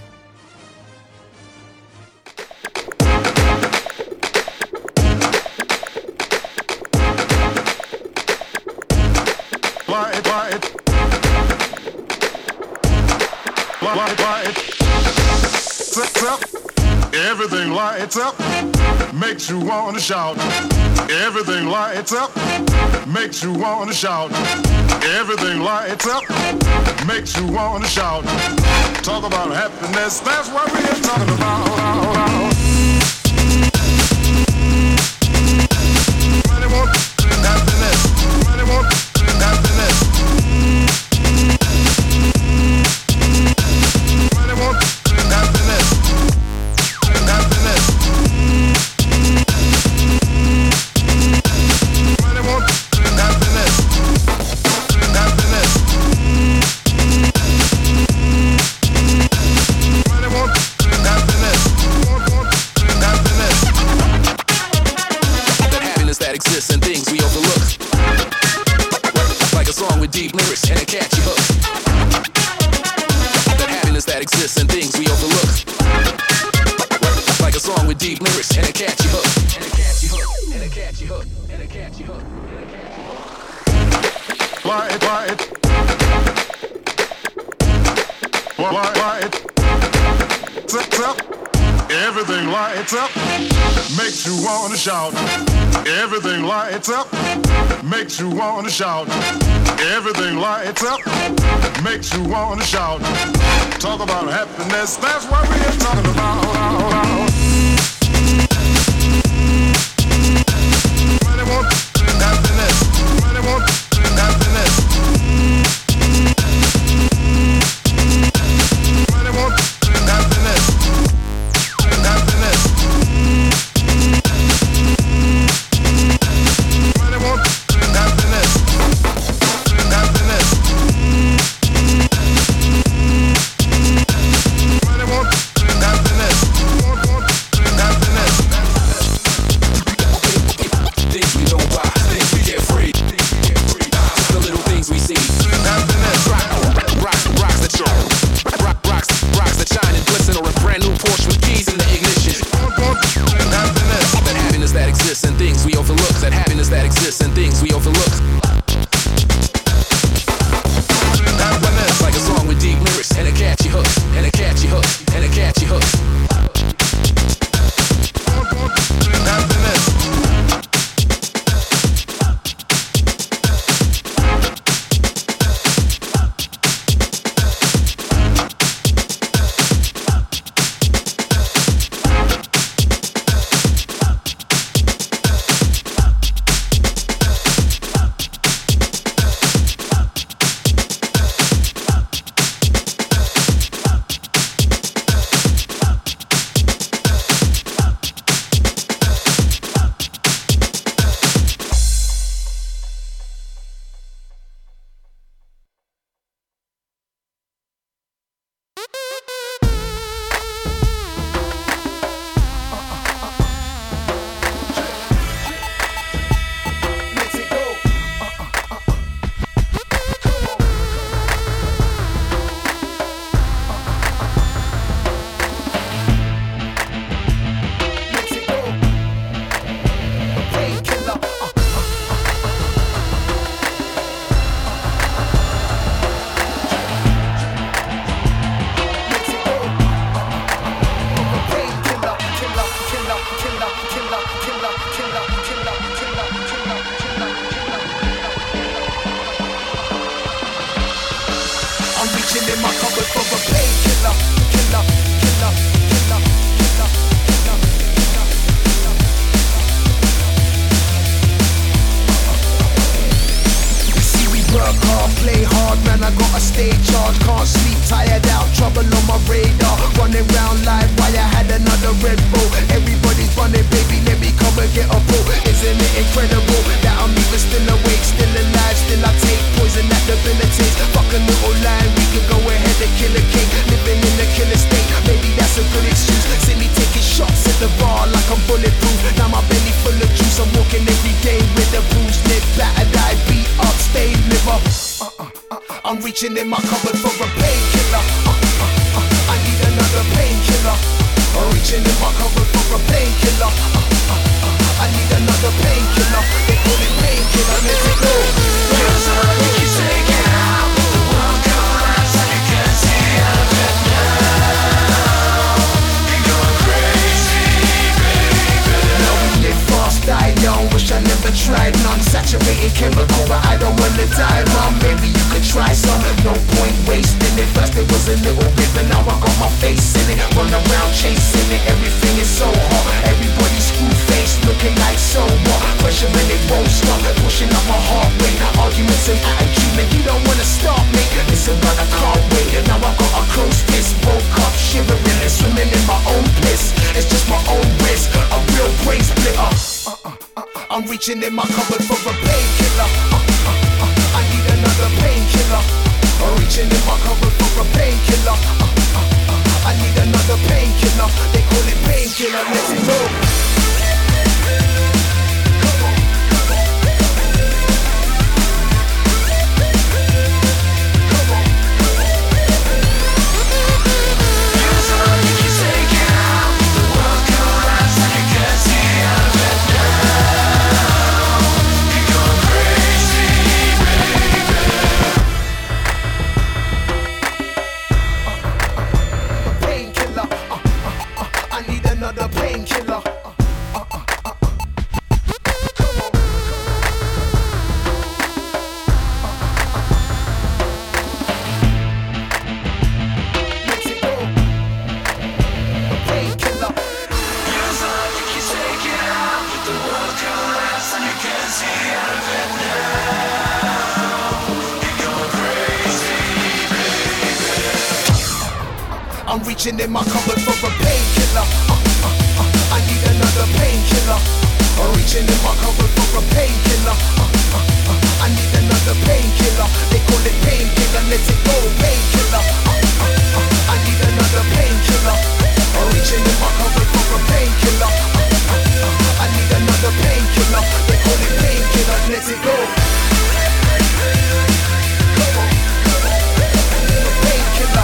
Everything lights up, makes you wanna shout. Everything lights up, makes you wanna shout. Everything lights up, makes you wanna shout. Talk about happiness, that's what we're talking about. Money won't happiness, money won't happiness. Money won't happiness. Happiness. Money won't happiness. Happiness. Money won't happiness. Happiness. That happiness that exists in things we overlook. Like a song with deep lyrics and a catchy hook. That happiness that exists in things we overlook. Like a song with deep lyrics and a catchy hook. And a catchy hook. And a catchy hook. And a catchy hook. Light. Up. Everything lights up, makes you wanna shout. Everything lights up, makes you wanna shout. Everything lights up, makes you wanna shout. Talk about happiness, that's what we're talking about. Rocks that shine and glisten, or a brand new Porsche with keys in the ignition. That happiness that exists and things we overlook. That happiness that exists and things we overlook. Happiness like a song with deep lyrics and a catchy hook, and a catchy hook, and a catchy hook. Happiness. In my cupboard for a painkiller. I need another painkiller. Reaching in my cupboard for a painkiller. I need another painkiller. They call it painkiller. Let it go. Here's a you take it out. The world collapse and you can't see out of it now. You're going crazy, baby. Now we live fast, die young. Wish I never tried none. Saturated chemical, but I don't wanna die, mom. Maybe you could try some. No point wasting it. First it was a little bit, but now I got my face in it. Run around chasing it. Everything is so hot. Everybody screw face, looking like so what? Pressure and it won't stop. Pushing up my heart rate. Arguments and attitude, man, you don't wanna stop me. Listen, but I can't wait. Now I got a close fist. Woke up shivering and swimming in my own piss. It's just my own risk. A real brain splitter. I'm reaching in my cupboard for a painkiller. I need another painkiller. Reaching in my cupboard for a painkiller. I need another painkiller. They call it painkiller. Let it go. I'm reaching in my cupboard for a painkiller. I need another painkiller. Reaching in my cupboard for a painkiller. I need another painkiller. They call it painkiller. Let it go, painkiller. I need another painkiller. Reaching in my cupboard for a painkiller. I need another painkiller. They call it painkiller. Let it go. Painkiller.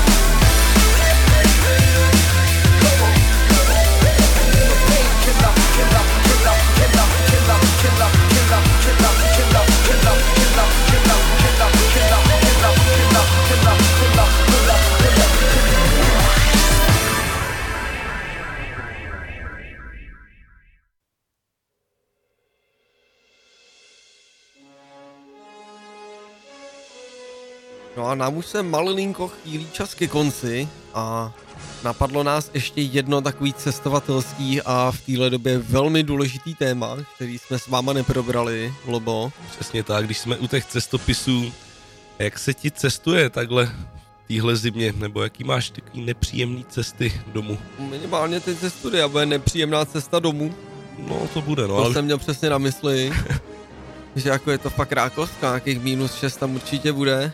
No a nám už se malinko chýlí čas ke konci a napadlo nás ještě jedno takový cestovatelský a v téhle době velmi důležitý téma, který jsme s váma neprobrali, Lobo. Přesně tak, když jsme u těch cestopisů, jak se ti cestuje takhle týhle zimě, nebo jaký máš takový nepříjemný cesty domů? Minimálně teď ze studia bude nepříjemná cesta domů. No to bude, no. To ale... jsem měl přesně na mysli, že jako je to fakt rákostka, nějakých -6 tam určitě bude.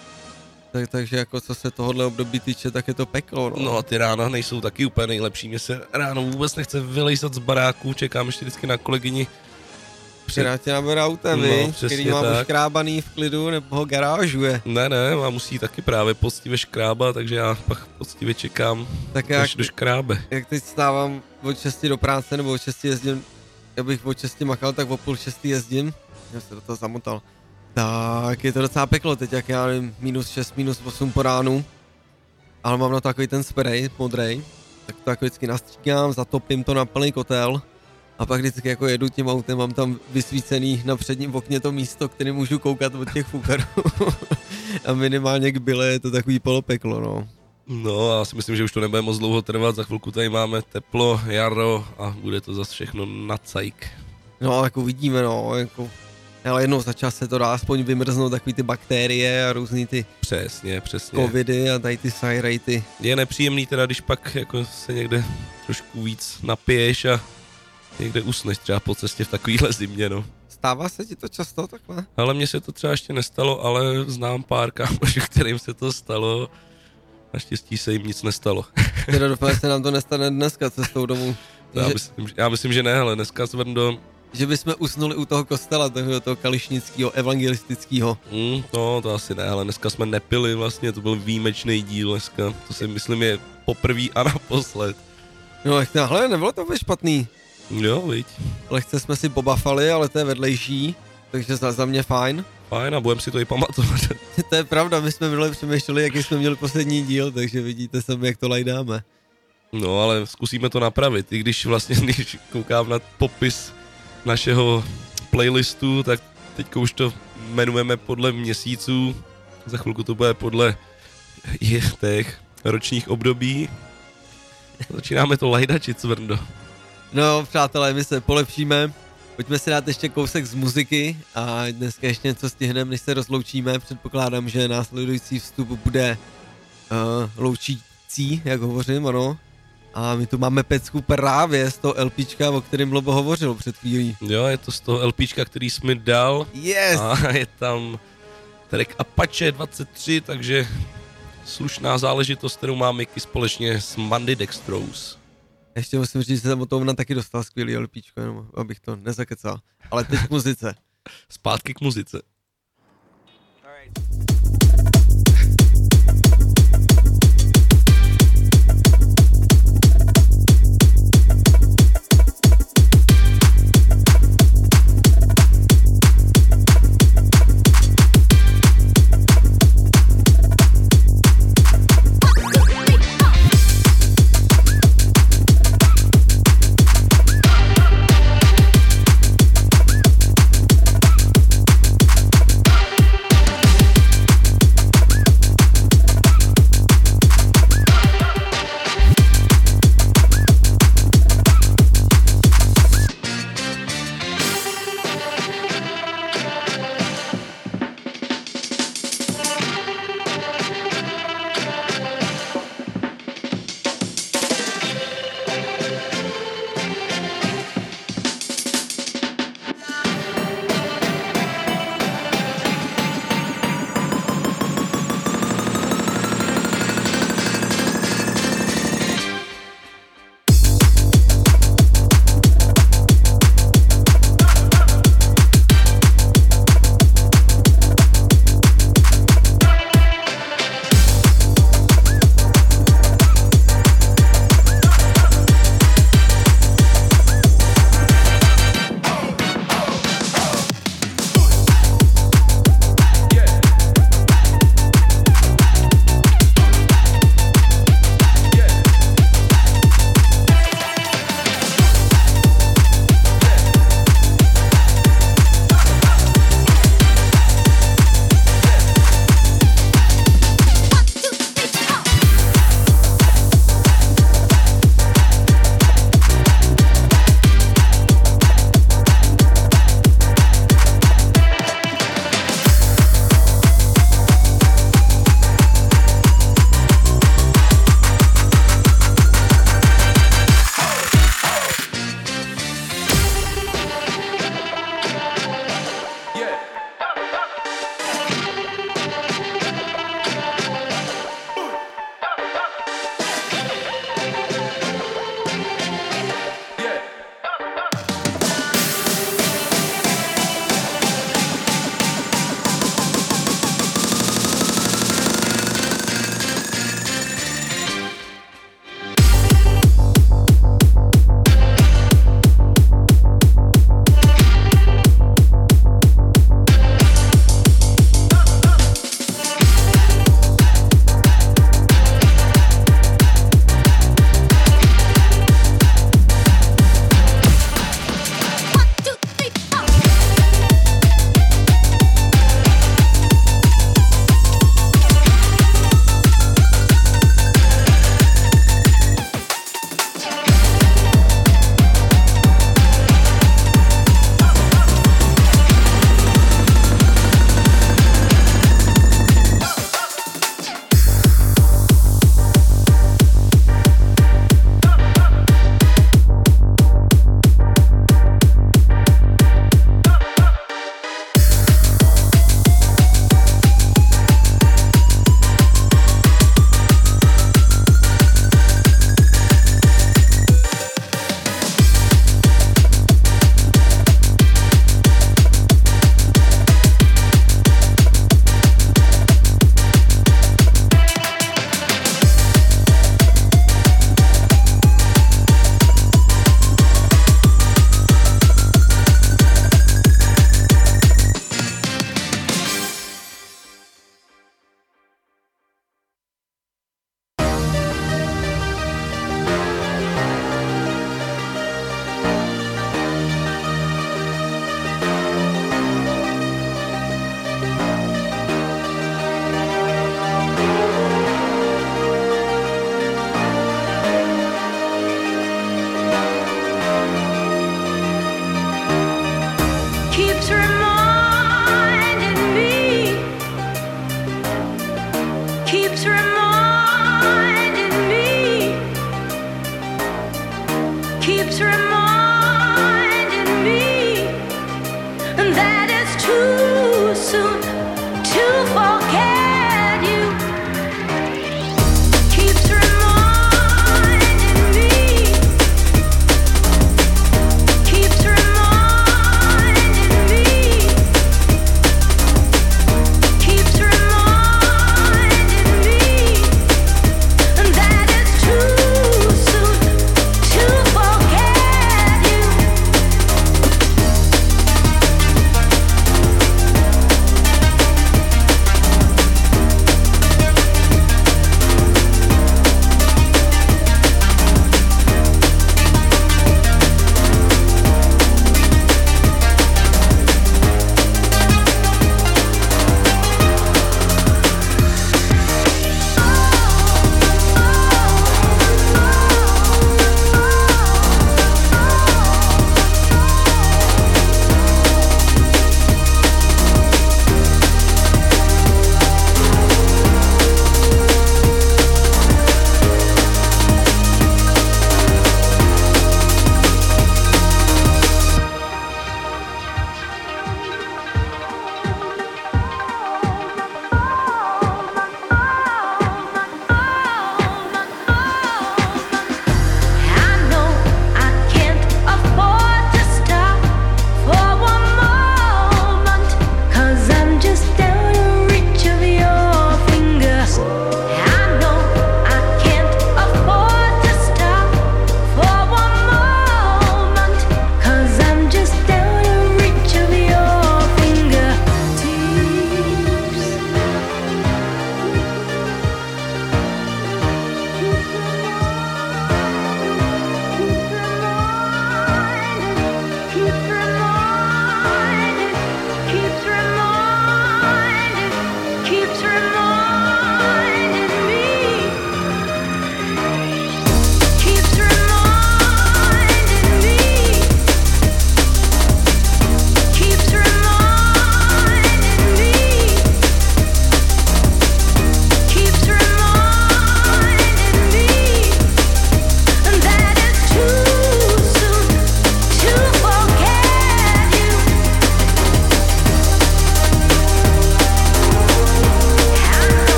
Takže jako co se tohohle období týče, tak je to peklo, no. No a ty rána nejsou taky úplně nejlepší, mně se ráno vůbec nechce vylejzat z baráku, čekám ještě vždycky na kolegyni. Která tě nabere autem, no, který má už škrábaný v klidu, nebo ho garážuje. Ne, a musí taky právě poctivě škrábat, takže já pak poctivě čekám, tak až do škrábe. Jak teď stávám od 6 do práce, nebo od 6 jezdím, já bych od 6 makal, tak o 5:30 jezdím, já se do toho zamotal. Tak je to docela peklo teď, jak já nevím, -6, -8 po ránu, ale mám na to takový ten spray modrej, tak to jako vždycky nastříkám, zatopím to na plný kotel a pak vždycky jako jedu tím autem, mám tam vysvícený na předním okně to místo, který můžu koukat od těch fukarů a minimálně k byle je to takový polopeklo, no. No a já si myslím, že už to nebude moc dlouho trvat, za chvilku tady máme teplo, jaro a bude to zase všechno na cajk. No jako vidíme, no, jako... Ale jednou za čas se to dá aspoň vymrznout takový ty bakterie a různý ty přesně. covidy a tady ty sajrejty. Je nepříjemný teda, když pak jako se někde trošku víc napiješ a někde usneš třeba po cestě v takovýhle zimě, no. Stává se ti to často takhle? Ale mně se to třeba ještě nestalo, ale znám pár kámošů, kterým se to stalo. Naštěstí se jim nic nestalo. Teda doufám, že se nám to nestane dneska cestou domů. Já myslím, že ne, ale dneska Zvrndo. Že bychom usnuli u toho kostela, toho kališnického, evangelistického. No, to asi ne, ale dneska jsme nepili vlastně, to byl výjimečný díl dneska. To si myslím je poprvý a naposled. No, hele, nebylo to vůbec špatný. Jo, viď. Lehce jsme si pobafali, ale to je vedlejší, takže za mě fajn. Fajn a budem si to i pamatovat. To je pravda, my jsme minule přemýšleli, jaký jsme měli poslední díl, takže vidíte sami, jak to lajdáme. No, ale zkusíme to napravit, i když vlastně, když koukám na popis našeho playlistu, tak teďka už to jmenujeme podle měsíců, za chvilku to bude podle těch ročních období. Začínáme to lajdačit, Cvrndo. No, přátelé, my se polepšíme, pojďme si dát ještě kousek z muziky a dneska ještě něco stihneme, než se rozloučíme. Předpokládám, že následující vstup bude loučící, jak hovořím, ano. A my tu máme pecku právě z toho LPčka, o kterém Lobo hovořil před chvílí. Jo, je to z toho LPčka, který jsi mi dal. Yes! A je tam track Apache 23, takže slušná záležitost, kterou mám Mickey společně s Mandy Dextrose. Ještě musím říct, že jsem o tom taky dostal skvělý LPčko, jenom abych to nezakecal. Ale teď k muzice. Zpátky k muzice.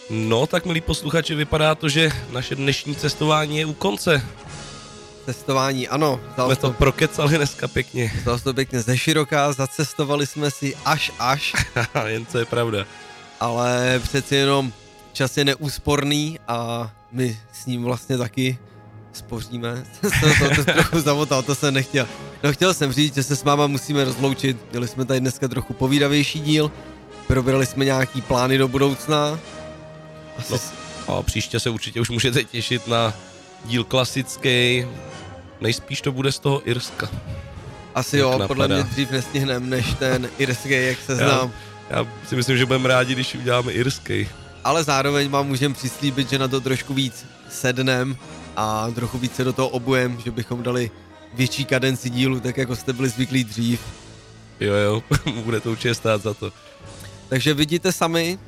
No, tak milí posluchači, vypadá to, že naše dnešní cestování je u konce. Cestování, ano. Jsme to prokecali dneska pěkně. Zdalo to pěkně ze široká, zacestovali jsme si až. Jen co je pravda. Ale přeci jenom čas je neúsporný a my s ním vlastně taky spoříme. to trochu zamotal, to jsem nechtěl. No chtěl jsem říct, že se s váma musíme rozloučit. Měli jsme tady dneska trochu povídavější díl. Probrali jsme nějaký plány do budoucna. A příště se určitě už můžete těšit na díl klasický. Nejspíš to bude z toho Irska. Asi jo, podle mě dřív nestihneme než ten irský, jak se znám. Já si myslím, že budeme rádi, když uděláme irský. Ale zároveň vám můžeme přislíbit, že na to trošku víc sednem a trochu víc se do toho obujem, že bychom dali větší kadenci dílu, tak jako jste byli zvyklí dřív. Jo, bude to určitě stát za to. Takže vidíte sami,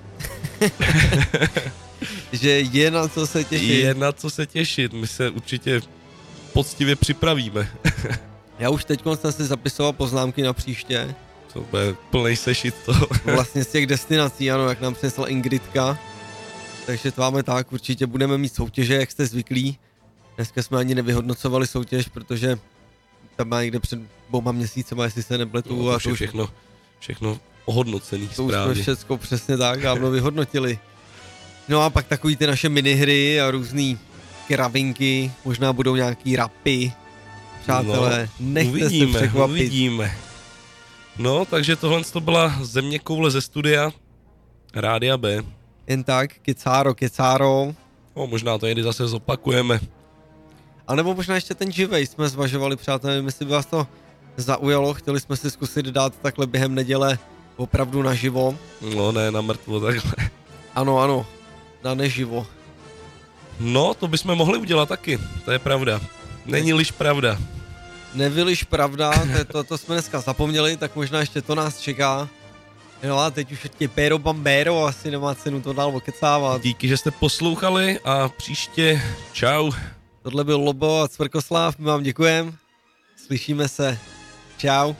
že je na co se těšit. Je na co se těšit, my se určitě poctivě připravíme. Já už teď jsem si zapisoval poznámky na příště. To bude plnej sešit toho. Vlastně z těch destinací, ano, jak nám přinesla Ingridka. Takže to máme tak, určitě budeme mít soutěže, jak jste zvyklí. Dneska jsme ani nevyhodnocovali soutěž, protože tam má někde před 2 měsícema, jestli se nepletu. No, a to všechno ohodnocený to správně. To už jsme všechno přesně tak dávno vyhodnotili. No a pak takový ty naše minihry a různý kravinky, možná budou nějaký rapy. Přátelé, nechte se překvapit. Uvidíme. No, takže tohle to byla zeměkoule ze studia Rádia B. Jen tak, kecáro. No, možná to někdy zase zopakujeme. A nebo možná ještě ten živej jsme zvažovali, přátelé, jestli by vás to zaujalo, chtěli jsme si zkusit dát takhle během neděle opravdu naživo. No ne, na mrtvo takhle. Ano, na neživo. No, to bychom mohli udělat taky, to je pravda. Není-liž pravda. Nebyliž pravda, to jsme dneska zapomněli, tak možná ještě to nás čeká. Jo a teď už je Pero Bambero, asi nemá cenu to dál okecávat. Díky, že jste poslouchali a příště čau. Tohle byl Lobo a Cvrkoslav, my vám děkujeme. Slyšíme se. Čau.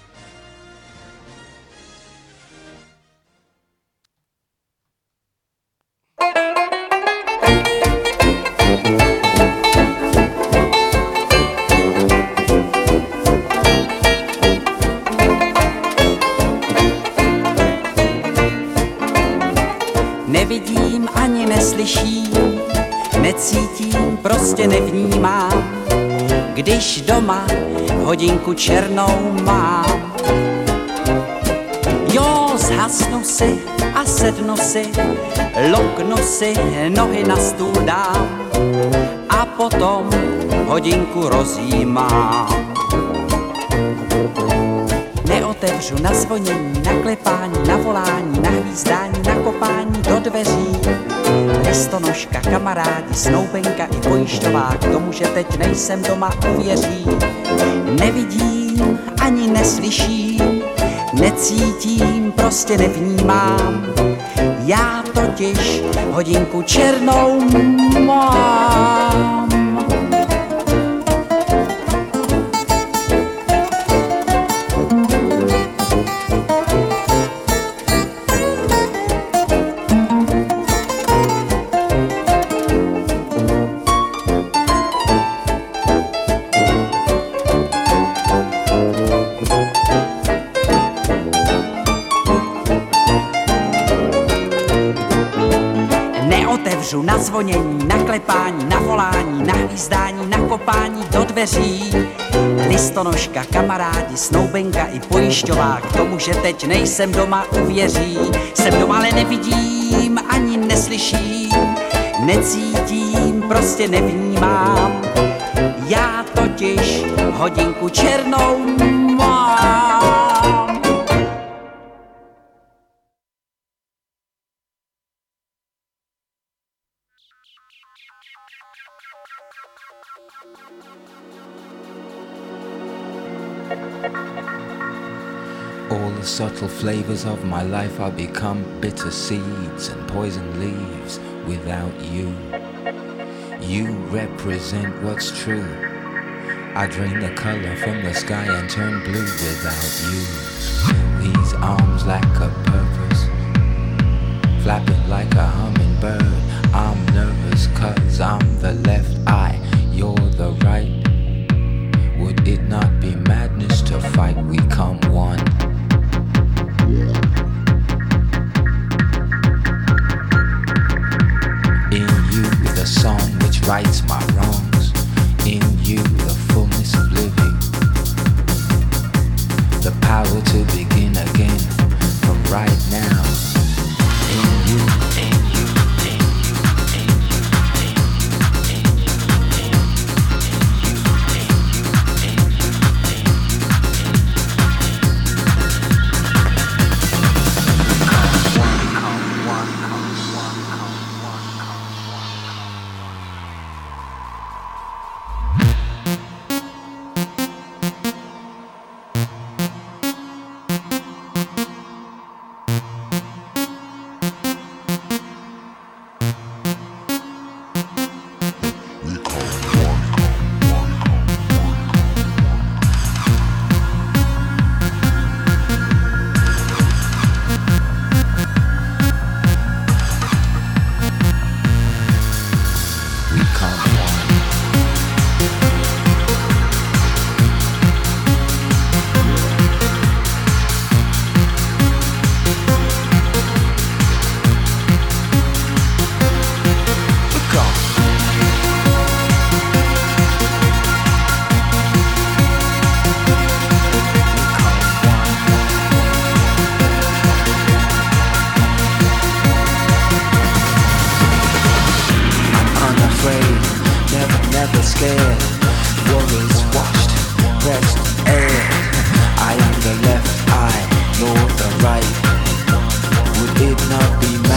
Nevidím ani neslyším, necítím, prostě nevnímám, když doma hodinku černou mám. Jo, zhasnu si a sednu si, loknu si, nohy na stůl dám a potom hodinku rozjímám. Neotevřu na zvonění, na klepání, na volání, na hvízdání, na kopání do dveří. Listonožka, kamarádi, snoubenka i pojišťovák, tomu, že teď nejsem doma, uvěří. Nevidím, ani neslyším, necítím, prostě nevnímám. Já totiž hodinku černou mám. Na zvonění, na klepání, na volání, na hvízdání, na kopání do dveří. Listonožka, kamarádi, snoubenka i pojišťovák, tomu, že teď nejsem doma, uvěří. Jsem doma, ale nevidím, ani neslyším, necítím, prostě nevnímám. Já totiž hodinku černou mám. All the subtle flavors of my life I'll become bitter seeds and poison leaves without you. You represent what's true. I drain the color from the sky and turn blue without you. These arms lack a purpose, flapping like a hummingbird.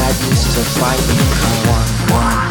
dad used to fight me. Come on,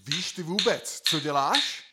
Víš ty vůbec, co děláš?